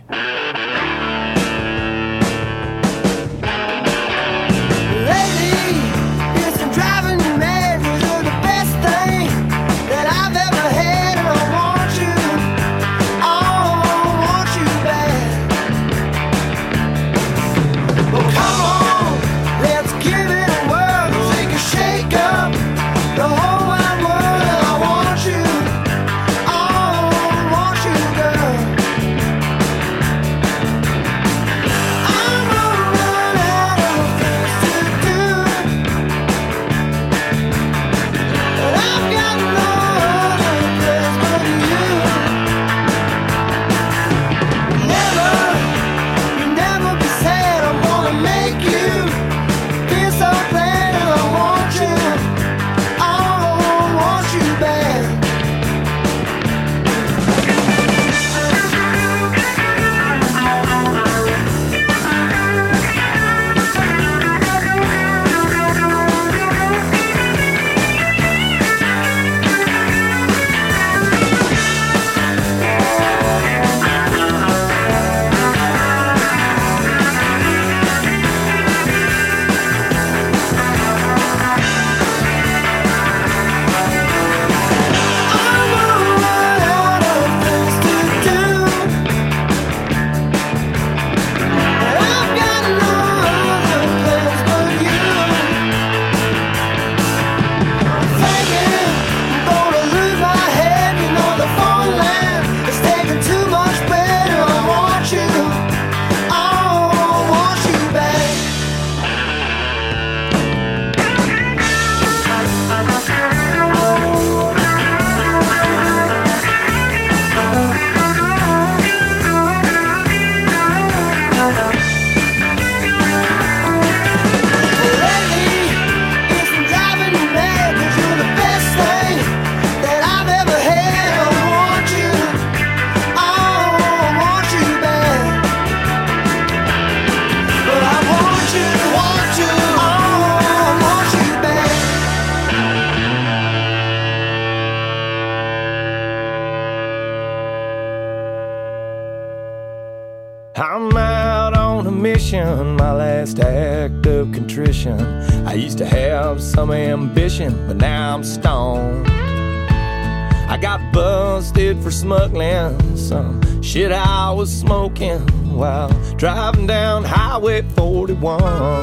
S9: mission, my last act of contrition. I used to have some ambition, but now I'm stoned. I got busted for smuggling some shit I was smoking while driving down Highway 41.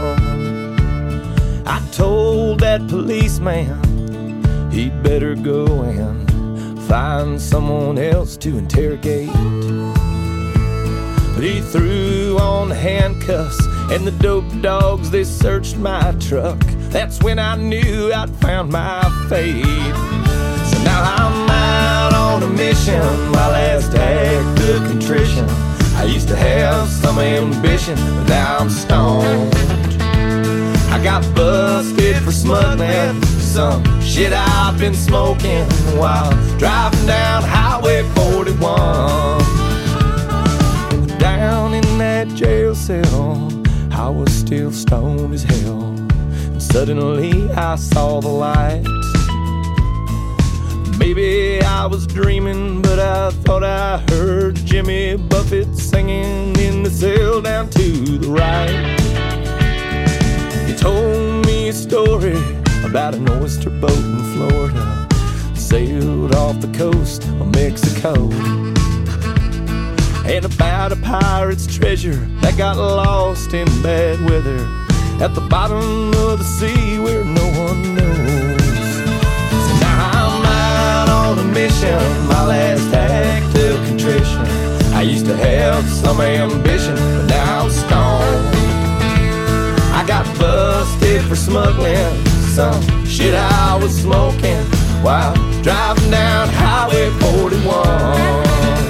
S9: I told that policeman he'd better go and find someone else to interrogate. But he threw on the handcuffs and the dope dogs, they searched my truck. That's when I knew I'd found my fate. So now I'm out on a mission, my last act of contrition. I used to have some ambition, but now I'm stoned. I got busted for smuggling some shit I've been smoking while driving down Highway 41. Down in that jail cell, I was still stoned as hell. And suddenly I saw the light. Maybe I was dreaming, but I thought I heard Jimmy Buffett singing in the cell down to the right. He told me a story about an oyster boat in Florida, sailed off the coast of Mexico, and about a pirate's treasure that got lost in bad weather at the bottom of the sea where no one knows. So now I'm out on a mission, my last act of contrition. I used to have some ambition, but now I'm stoned. I got busted for smuggling some shit I was smoking while driving down Highway 41.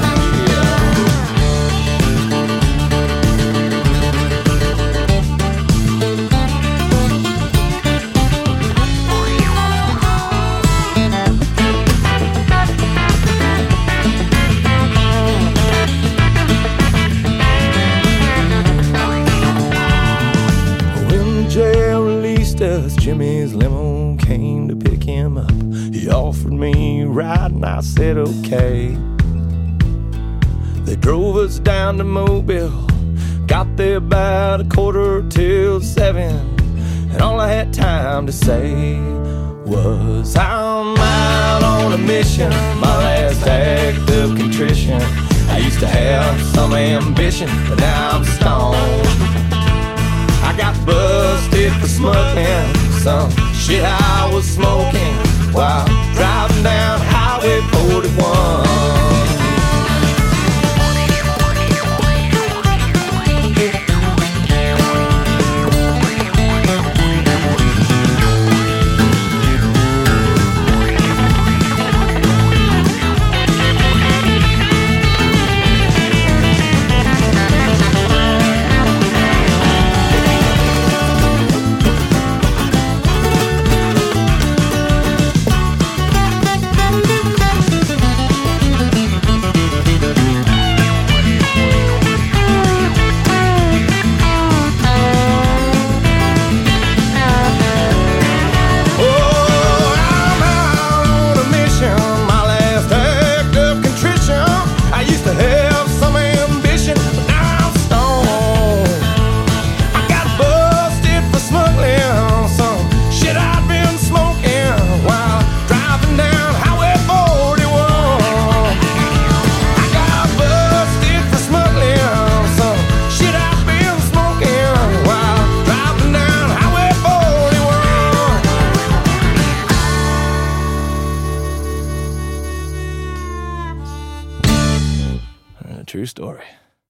S9: Jimmy's limo came to pick him up. He offered me a ride and I said okay. They drove us down to Mobile, got there about 7:15, and all I had time to say was I'm out on a mission, my last act of contrition. I used to have some ambition, but now I'm stoned. I got busted for smuggling some shit I was smoking while driving down Highway 41. True story.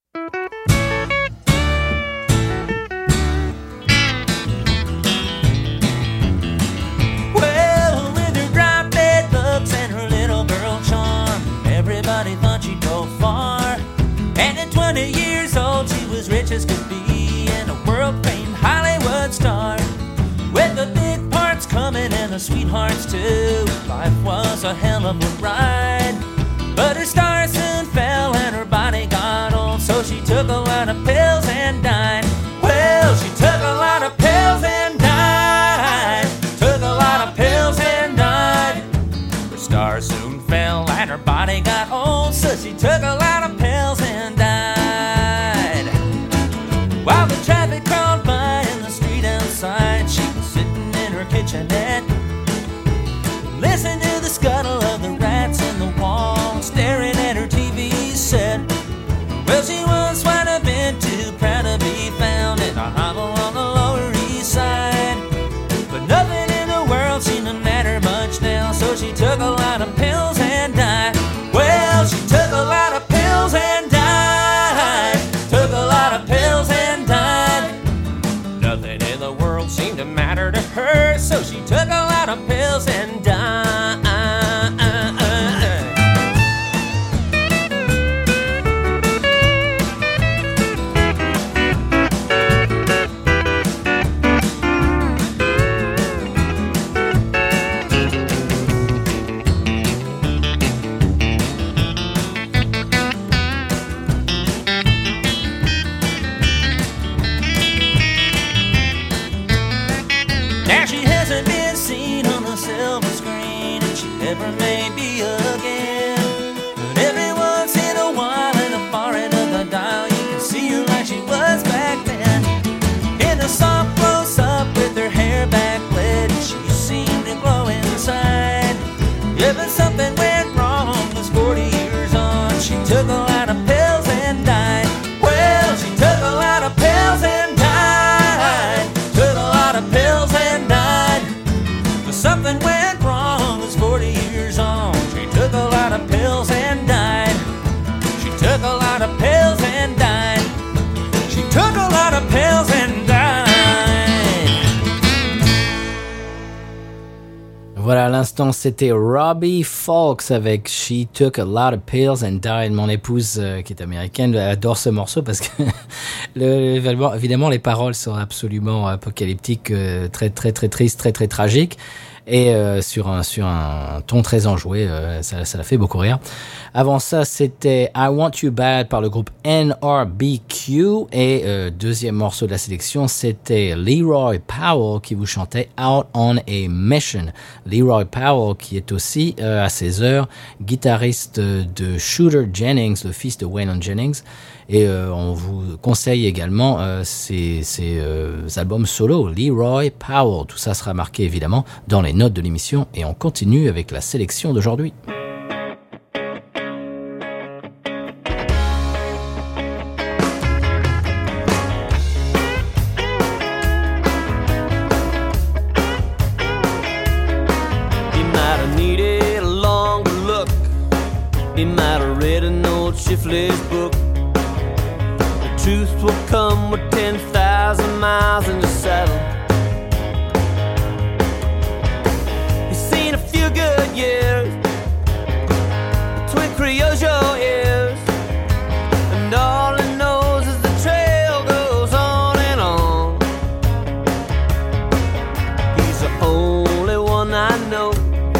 S10: Well, with her bright red looks and her little girl charm, everybody thought she'd go far. And at 20 years old, she was rich as could be and a world-famed Hollywood star. With the big parts coming and the sweethearts too, life was a hell of a ride. But her star soon fell and her body got old, so she took a lot of pills and died. Well, she took a lot of pills and died. Took a lot of pills and died. Her star soon fell and her body got old, so she took a lot of pills and died. While the traffic crawled by in the street outside. She was sitting in her kitchenette, listening to the scuttle of the rats in the wall, staring at her TV set. Well, she once might have been too proud to be found in a hovel on the Lower East Side, but nothing in the world seemed to matter much now, so she took a lot of pills and died. Well, she took a lot of pills and died. Took a lot of pills and died. Nothing in the world seemed to matter to her, so she took a lot of pills and died. Now she hasn't been seen on the silver screen, and she never may be again. But every once in a while, in the far end of the dial, you can see her like she was back then. In a soft close-up with her hair backlit, she seemed to glow inside. Yeah, but something went wrong, was 40 years on. She took a lot of pills and died. Well, she took a lot of pills and died. Took a lot of pills and died. But something went wrong, was 40 years on. She took a lot of pills and died. She took a lot of pills and died. She took a lot of pills and died.
S1: Voilà, à l'instant, c'était Robbie Fawkes avec She Took a Lot of Pills and Died. Mon épouse, qui est américaine, adore ce morceau parce que évidemment, les paroles sont absolument apocalyptiques, très, très, très tristes, très, très tragiques. Et sur un ton très enjoué, ça l'a fait beaucoup rire. Avant ça, c'était I Want You Bad par le groupe NRBQ. Et deuxième morceau de la sélection, c'était Leroy Powell qui vous chantait Out on a Mission. Leroy Powell qui est aussi, à ses heures, guitariste de Shooter Jennings, le fils de Waylon Jennings. Et on vous conseille également ces albums solo, Leroy Powell. Tout ça sera marqué évidemment dans les notes de l'émission. Et on continue avec la sélection d'aujourd'hui.
S3: He might have needed a longer look. He might have read an old shiftless book. Truth will come with 10,000 miles in the saddle. He's seen a few good years between Criollo ears, and all he knows is the trail goes on and on. He's the only one I know,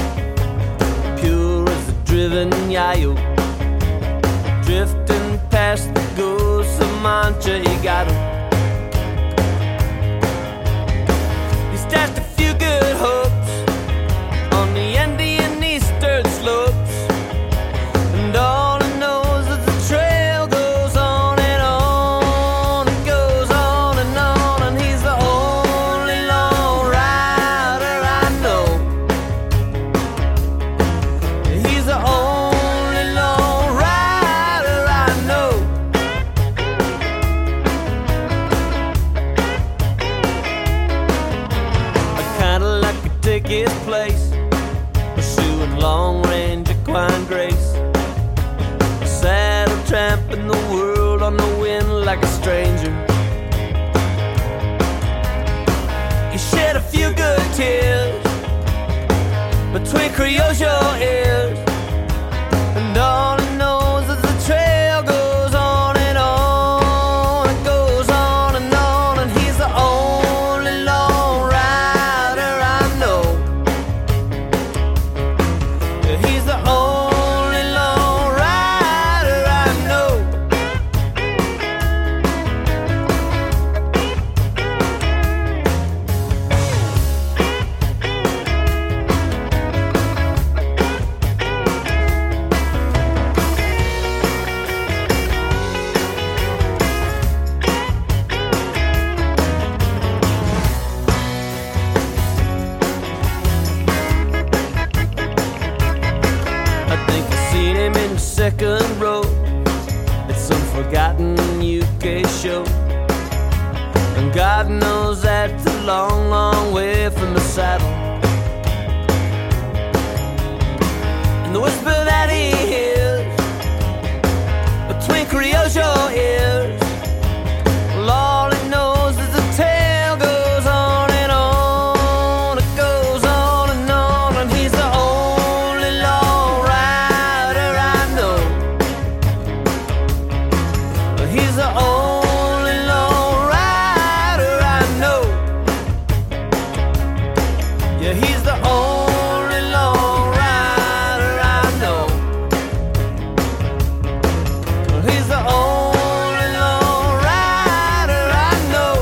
S3: pure as a driven yayo, drifting past the ghosts of Mancha Higado. He stashed a few good hopes on the Andean eastern slopes, and all he knows is the trail goes on and on. It goes on, and he's the only long rider I know. He's the only long rider I know. Take his place, pursuing long-range equine grace, saddle tramping the world on the wind like a stranger. He shed a few good tears between Criollo ears, and all he knows is the trail goes on and on. It goes on, and he's the only long rider I know. He's the only long rider I know. second row at some forgotten UK show. And God knows that's a long, long way from the saddle. And the whisper that he hears between Creole's ears, well, all he knows is the tale goes on and on. It goes on, and he's the only long rider I know. He's the only long rider I know. Yeah, he's the only long rider I know. He's the only long rider I know.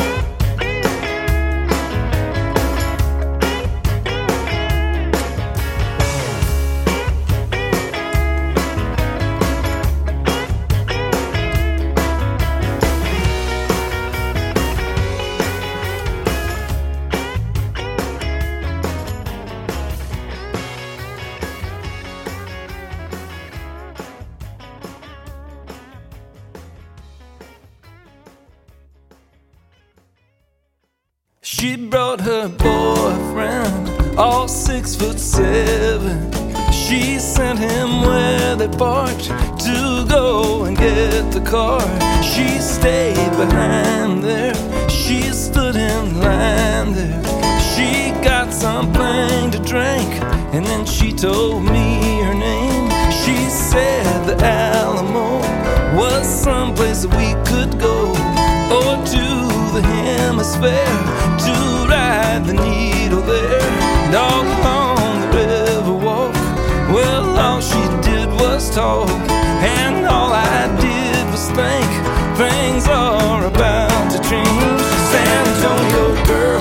S9: She brought her boyfriend, all 6'7". She sent him where they parked to go and get the car. She stayed behind there, she stood in line there. She got something to drink, and then she told me her name. She said the Alamo was someplace that we could go, or to the hemisphere to ride the needle there. And all along the river walk, well, all she did was talk, and all I did was think things are about to change. San Antonio girl,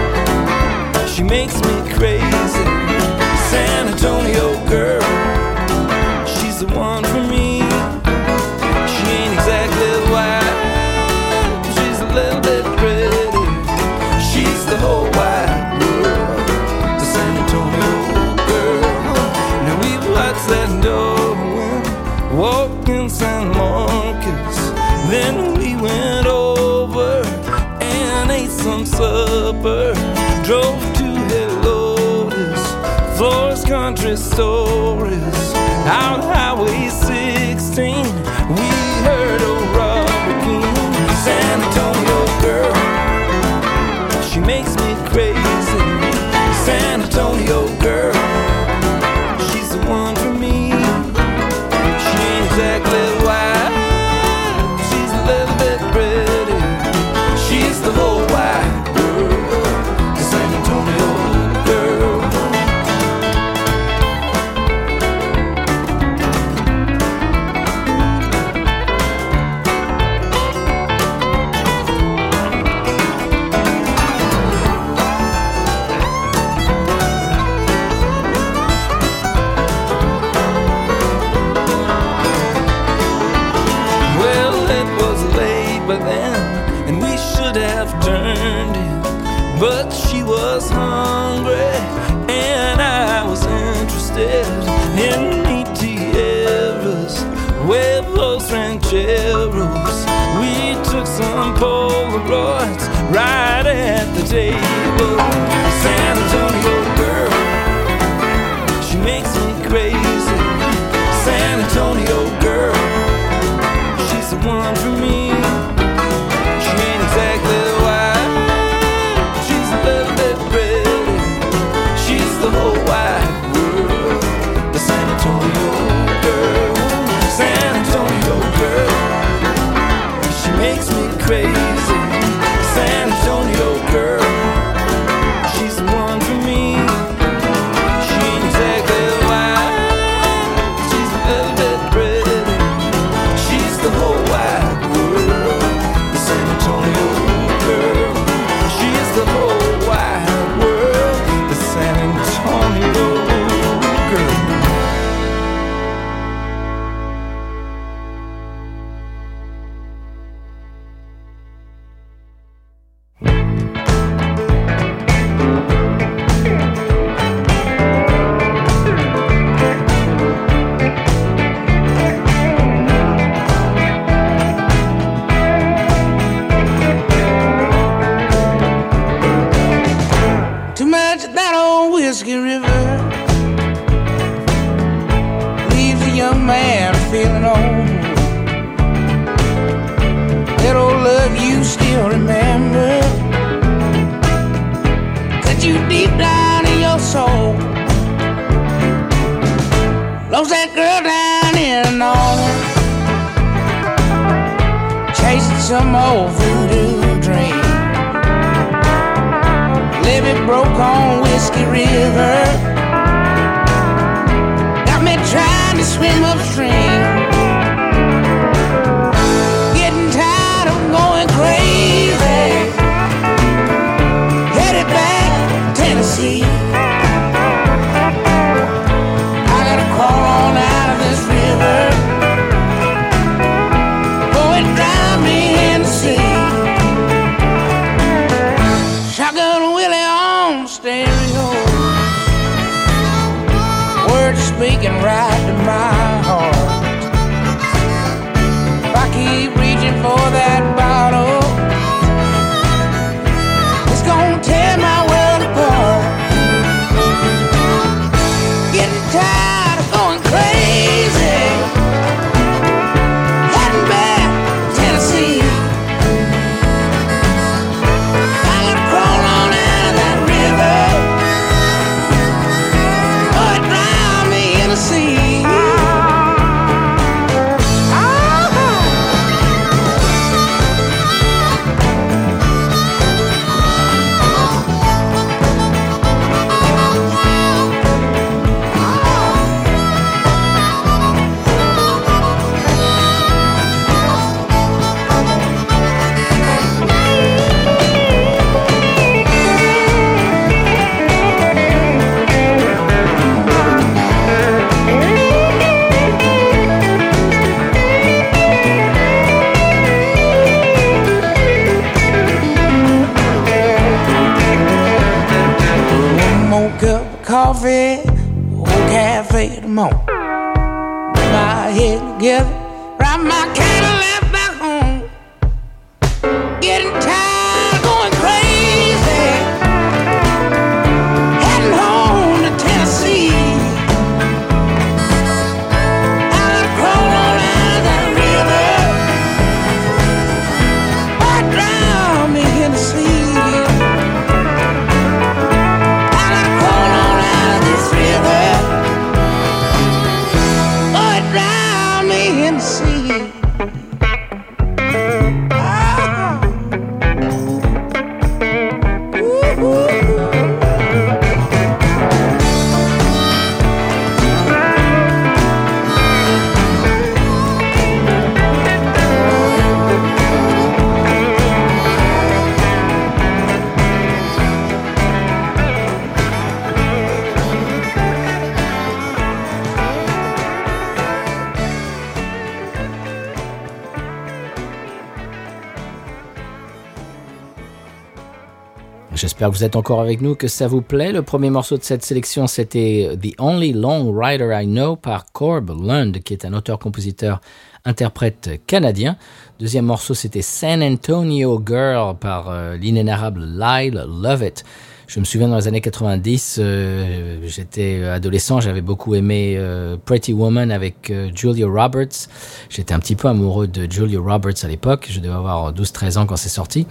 S9: she makes me crazy. San Antonio girl, she's the one for me. She ain't exactly white, she's a little bit pretty. She's the whole wide world, the San Antonio girl. Now we've watched that Darwin walk in San Marcos. Then we went over and ate some supper. Drove to Helotes, Flores Country Stories. Out Highway 16, we heard old Robert King. San Antonio girl, she makes me crazy. San Antonio girl, she's the one for me. She ain't exactly white, she's a little bit pretty. She's the whole wide world, the San Antonio girl. Well, it was late by then, and we should have turned in, but she was hungry, and I was interested in meat tierras, huevos rancheros. We took some Polaroids right at the table. San Antonio girl, she makes me crazy. San Antonio girl, she's the one for me. She ain't exactly white, she's a little bit pretty. She's the whole wide world, the San Antonio girl. San Antonio girl, she makes me crazy. San Antonio girl,
S11: Whiskey River leaves a young man feeling old. That old love you still remember, cut you deep down in your soul. Lost that girl down in New Orleans, chasing some old voodoo dream. Levee broke on Whiskey River, got me trying to swim upstream. Getting tired of going crazy, headed back to Tennessee. I gotta crawl on out of this river, oh, it drives me in the sea. Shotgun Willie on stereo, words speaking right to my heart. If I keep reaching for that bottle, it's gonna tear my world apart. Getting tired of going crazy, heading back to Tennessee. I gotta crawl on out of that river, oh, it drowned me in the sea. One more cup of coffee, old cafe at the mall. Put my head together, ride my Cadillac back home. Getting tired of going crazy, heading home to Tennessee. I gotta crawl on out of that river, oh, it drowned me in the sea. I gotta crawl on out of this river, oh, it drowned me in the sea. Ah. Ooh.
S1: J'espère que vous êtes encore avec nous, que ça vous plaît. Le premier morceau de cette sélection, c'était The Only Long Rider I Know par Corb Lund, qui est un auteur-compositeur-interprète canadien. Deuxième morceau, c'était San Antonio Girl par l'inénarrable Lyle Lovett. Je me souviens dans les années 90, j'étais adolescent, j'avais beaucoup aimé Pretty Woman avec Julia Roberts. J'étais un petit peu amoureux de Julia Roberts à l'époque, je devais avoir 12-13 ans quand c'est sorti.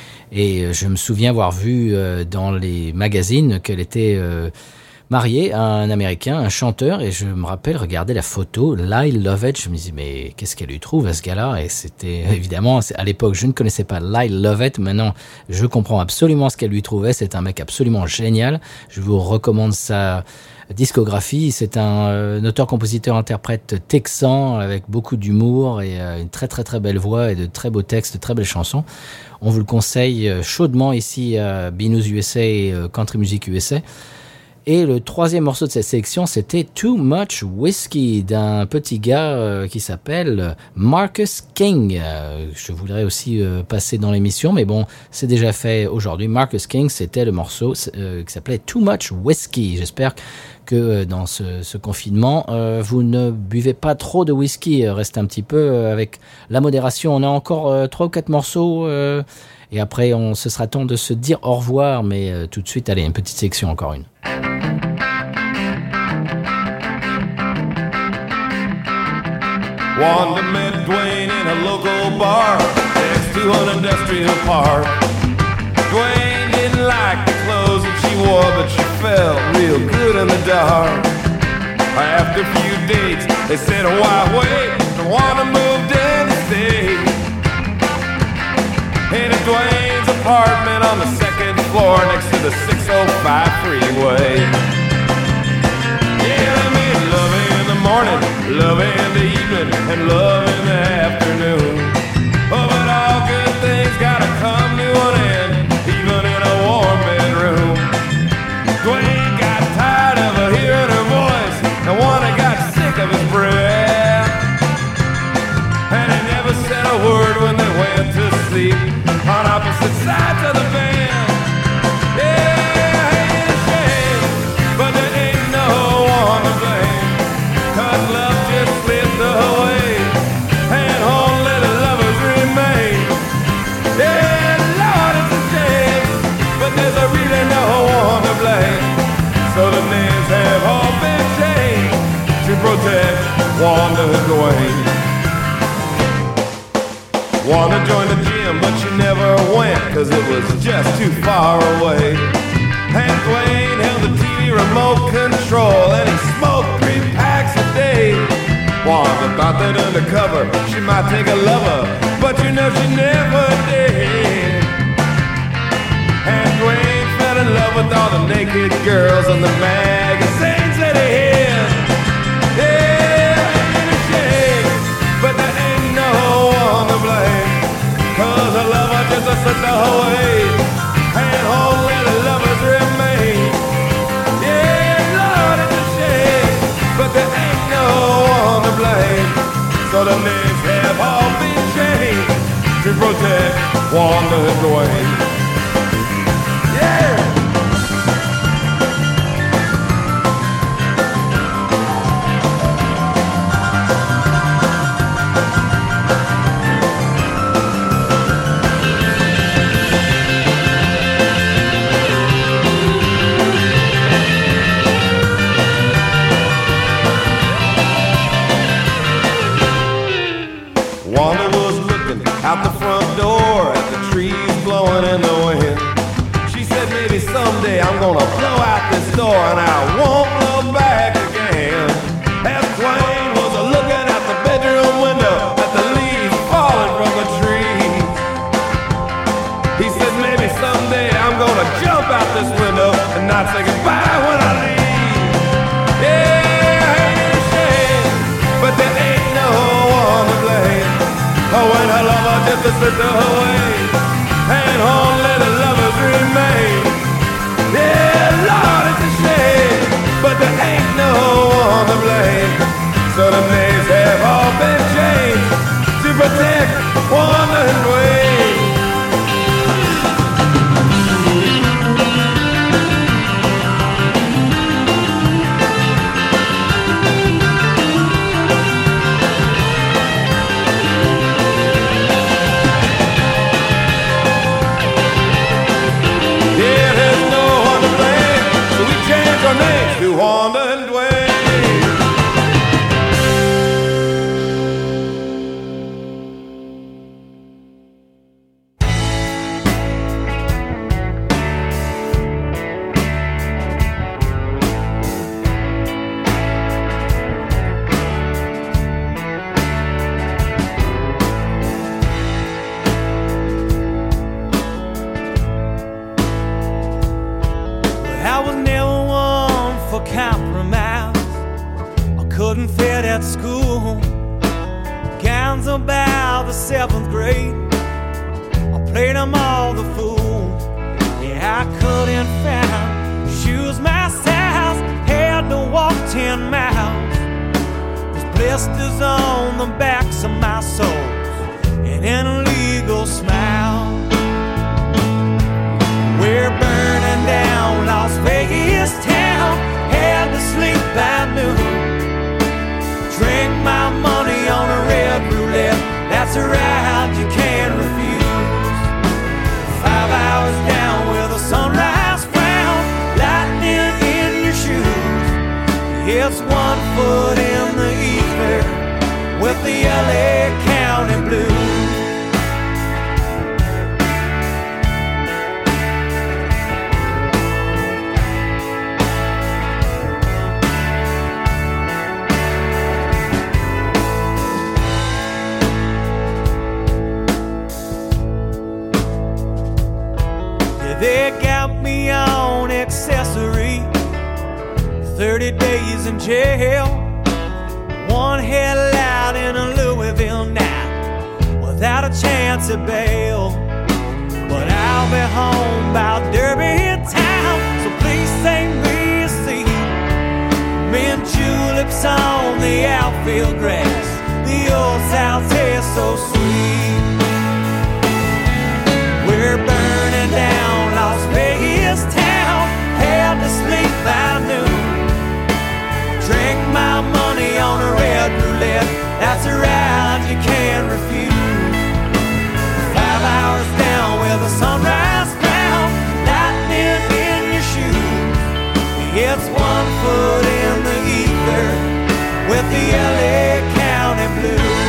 S1: Et je me souviens avoir vu dans les magazines qu'elle était mariée à un Américain, un chanteur, et je me rappelle regarder la photo, Lyle Lovett, je me disais mais qu'est-ce qu'elle lui trouve à ce gars-là? Et c'était évidemment, à l'époque je ne connaissais pas Lyle Lovett, maintenant je comprends absolument ce qu'elle lui trouvait, c'est un mec absolument génial, je vous recommande sa discographie, c'est un auteur-compositeur-interprète texan avec beaucoup d'humour et une très très très belle voix et de très beaux textes, de très belles chansons. On vous le conseille chaudement ici à Binous USA et Country Music USA. Et le troisième morceau de cette sélection, c'était Too Much Whiskey d'un petit gars qui s'appelle Marcus King. Je voudrais aussi passer dans l'émission, mais bon, c'est déjà fait aujourd'hui. Marcus King, c'était le morceau qui s'appelait Too Much Whiskey. J'espère que dans ce confinement, vous ne buvez pas trop de whisky. Restez un petit peu avec la modération. On a encore 3 ou 4 morceaux et après, ce sera temps de se dire au revoir. Mais tout de suite, allez, une petite section, encore une.
S9: Wanda met Dwayne in a local bar next to an industrial park. Dwayne didn't like the clothes that she wore, but she felt real good in the dark. After a few dates, they said, why wait? Wanda moved in to stay in Dwayne's apartment on the second floor next to the 605 freeway. Yeah, they made love in the morning, love in the evening, and love in the afternoon. Oh, but all good things gotta come to an end, even in a warm bedroom. Dwayne got tired of hearing her voice, and Wanda got sick of his breath. And he never said a word when they went to sleep on opposite sides of the bed. Yeah, ain't a shame, but there ain't no one to blame, 'cause love just slipped away, and only the lovers remain. Yeah, Lord, it's a shame, but there's really no one to blame. So the names have all been changed to protect Wanda and Dwayne. Wanda joined the gym, but she never went, 'cause it was just too far away. And Dwayne held the TV remote control, and he smoked 3 packs a day. Wanda thought that undercover she might take a lover, but you know she never did. And Dwayne fell in love with all the naked girls in the magazines that he hid. Yeah, ain't a shame, but there ain't no one to blame, 'cause a lover just slipped away, and only the lovers remain. Yeah, Lord, it's a shame, but there ain't no one to blame. So the names have all been changed to protect Wanda and Dwayne. Yeah! Wanda was looking out the front door at the trees blowing in the wind. She said, maybe someday I'm gonna blow out this door and I won't blow back again. As Dwayne was looking out the bedroom window at the leaves falling from the trees, he said, maybe someday I'm gonna jump out this window and not say goodbye when I leave. Yeah, ain't a shame, but there ain't no one to blame. Oh, when her lover just slipped away, and only the lovers remain. Yeah, Lord, it's a shame, but there ain't no one to blame. So the names have all been changed to protect Wanda and Dwayne. To Wanda and Dwayne.
S10: I was never one for compromise. I couldn't fit at school. Gowns about the 7th grade, I played them all the fool. Yeah, I couldn't find shoes my size, had to walk 10 miles. There's blisters on the backs of my soles and an illegal smile. We're burning down Las Vegas town, had to sleep by noon. Drink my money on a red roulette, that's a ride you can't refuse. 5 hours down with a sunrise frown, lightning in your shoes. It's 1 foot in the ether with the
S3: They got me on accessory, 30 days in jail, one head out in a Louisville night, without a chance of bail. But I'll be home about Derby town, so please sing me a seat. Mint juleps on the outfield grass, the old South tastes so sweet. We're burning down Las Vegas town, had to sleep by noon. Drink my money on a red roulette, that's a ride you can't refuse. 5 hours down with a sunrise down, lightning in your shoes. It's 1 foot in the ether with the LA County Blues.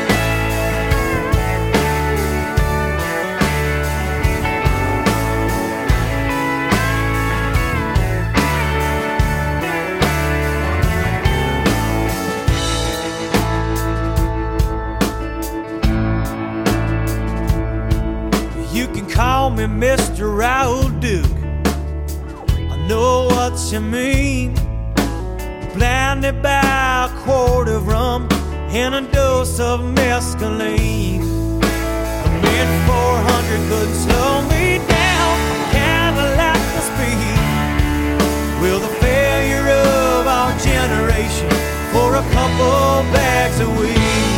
S3: You can call me Mr. Raoul Duke, I know what you mean. Blinded by a quart of rum and a dose of mescaline. The mid-400 couldn't slow me down, Cadillac the speed. Will the failure of our generation for a couple bags of weed.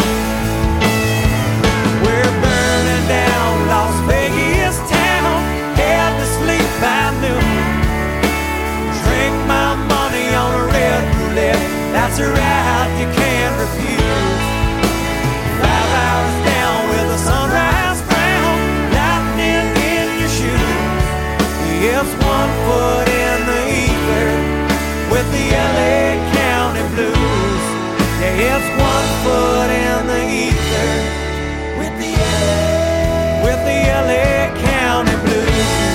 S3: We're burning down Las Vegas town, had to sleep by noon. Drink my money on a red roulette, that's a ride you can't refuse. 5 hours down with a sunrise crown, lightning in your shoes. It's 1 foot in the ether with the LA County Blues. Yeah, it's 1 foot in the ether with the LA County Blues.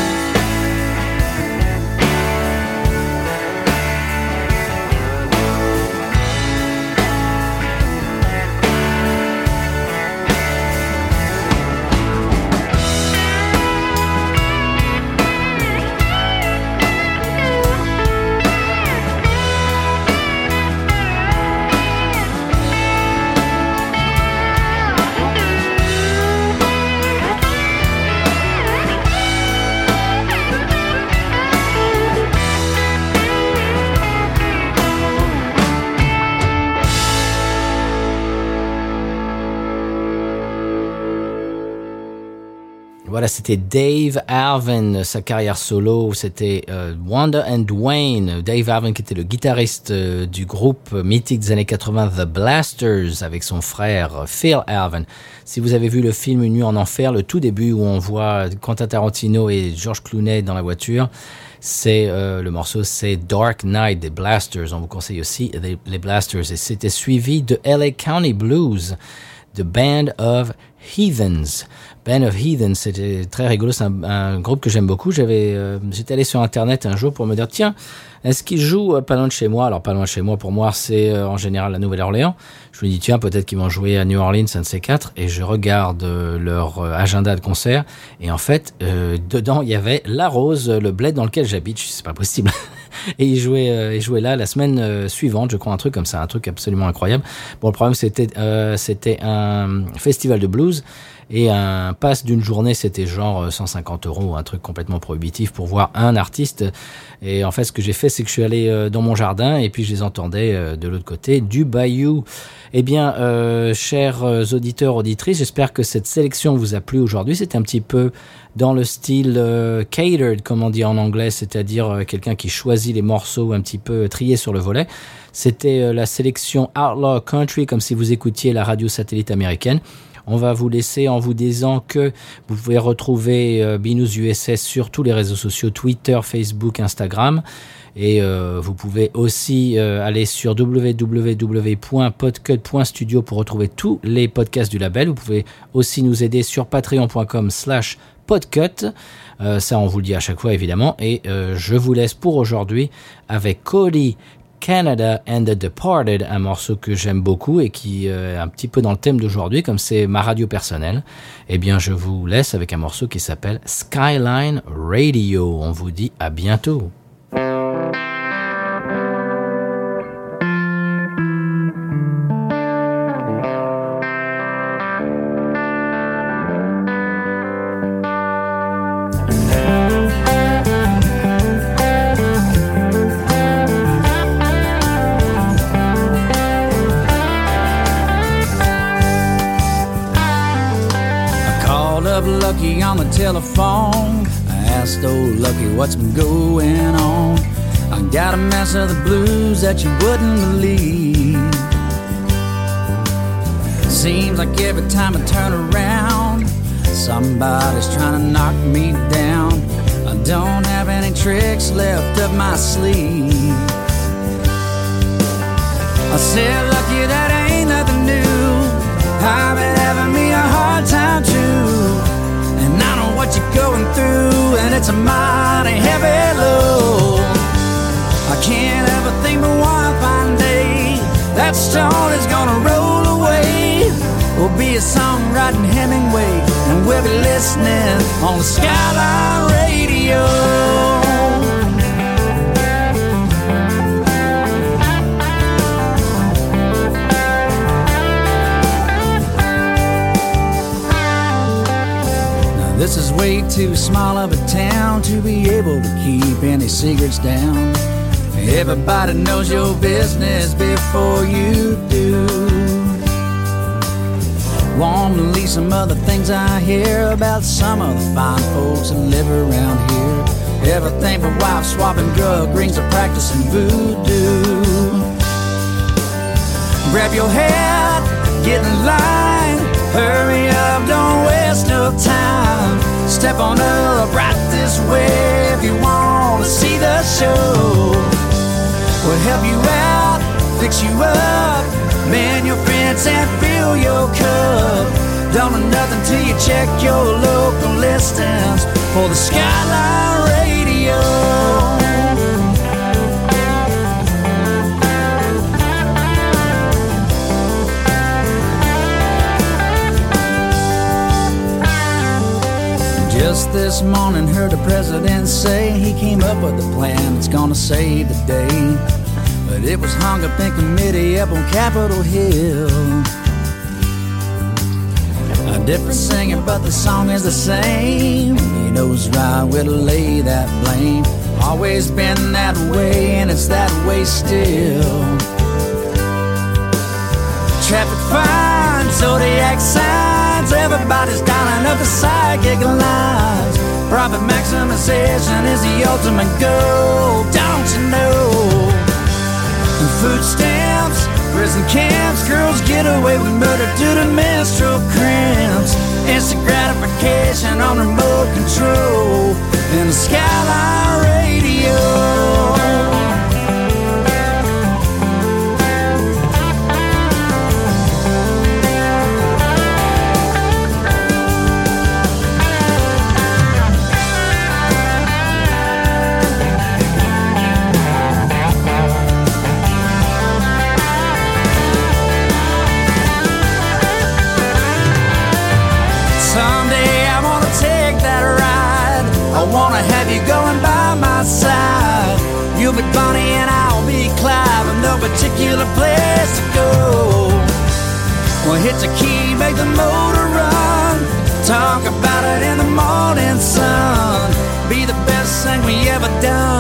S1: Voilà, c'était Dave Arvin, sa carrière solo, c'était Wanda and Dwayne. Dave Arvin qui était le guitariste du groupe mythique des années 80 The Blasters avec son frère Phil Arvin. Si vous avez vu le film Une nuit en enfer, le tout début où on voit Quentin Tarantino et George Clooney dans la voiture, c'est le morceau, c'est Dark Knight des Blasters. On vous conseille aussi les Blasters. Et c'était suivi de LA County Blues, The Band of Heathens. Band of Heathens, c'était très rigolo, c'est un groupe que j'aime beaucoup. J'étais allé sur internet un jour pour me dire, tiens, est-ce qu'ils jouent pas loin de chez moi? Alors pas loin de chez moi, pour moi, c'est en général la Nouvelle-Orléans. Je me dis, tiens, peut-être qu'ils vont jouer à New Orleans, un de ces quatre. Et je regarde leur agenda de concert. Et en fait, dedans, il y avait La Rose, le bled dans lequel j'habite. Je dis, c'est pas possible. Et ils jouaient là la semaine suivante, je crois, un truc comme ça, un truc absolument incroyable. Bon, le problème, c'était un festival de blues. Et un pass d'une journée, c'était genre 150 €, un truc complètement prohibitif pour voir un artiste. Et en fait, ce que j'ai fait, c'est que je suis allé dans mon jardin et puis je les entendais de l'autre côté du bayou. Eh bien, chers auditeurs, auditrices, j'espère que cette sélection vous a plu aujourd'hui. C'était un petit peu dans le style catered, comme on dit en anglais, c'est-à-dire quelqu'un qui choisit les morceaux un petit peu triés sur le volet. C'était la sélection Outlaw Country, comme si vous écoutiez la radio satellite américaine. On va vous laisser en vous disant que vous pouvez retrouver Binous USS sur tous les réseaux sociaux, Twitter, Facebook, Instagram. Et vous pouvez aussi aller sur www.podcut.studio pour retrouver tous les podcasts du label. Vous pouvez aussi nous aider sur patreon.com/podcut. Ça, on vous le dit à chaque fois, évidemment. Et je vous laisse pour aujourd'hui avec Cody Canada and the Departed, un morceau que j'aime beaucoup et qui est un petit peu dans le thème d'aujourd'hui, comme c'est ma radio personnelle. Eh bien, je vous laisse avec un morceau qui s'appelle Skyline Radio. On vous dit à bientôt.
S12: Lucky on the telephone, I asked old Lucky what's been going on. I got a mess of the blues that you wouldn't believe. Seems like every time I turn around, somebody's trying to knock me down. I don't have any tricks left up my sleeve. I said, Lucky, that ain't nothing new. I've been having me a hard time too. And I know what you're going through, and it's a mighty heavy load. I can't ever think but one fine day that stone is gonna roll away. We'll be a songwriting Hemingway, and we'll be listening on the Skyline Radio. This is way too small of a town to be able to keep any secrets down. Everybody knows your business before you do. Won't believe some other things I hear about some of the fine folks that live around here. Everything from wife swapping drug rings to practicing voodoo. Grab your hat, get in line, hurry up, don't waste no time. Step on up right this way if you want to see the show. We'll help you out, fix you up, mend your fence and fill your cup. Don't know nothing till you check your local listings for the Skyline Radio. Just this morning heard the president say he came up with a plan that's gonna save the day. But it was hung up in committee up on Capitol Hill. A different singer but the song is the same. He knows right where to lay that blame. Always been that way and it's that way still. Traffic fines, zodiac signs, everybody's dialing up the psychic lines. Profit maximization is the ultimate goal, don't you know? And food stamps, prison camps, girls get away with murder due to menstrual cramps. Instant gratification on remote control in the Skyline Radio. I wanna have you going by my side. You'll be Bonnie and I'll be Clyde, with no particular place to go. Well, hit the key, make the motor run. Talk about it in the morning sun. Be the best thing we ever done.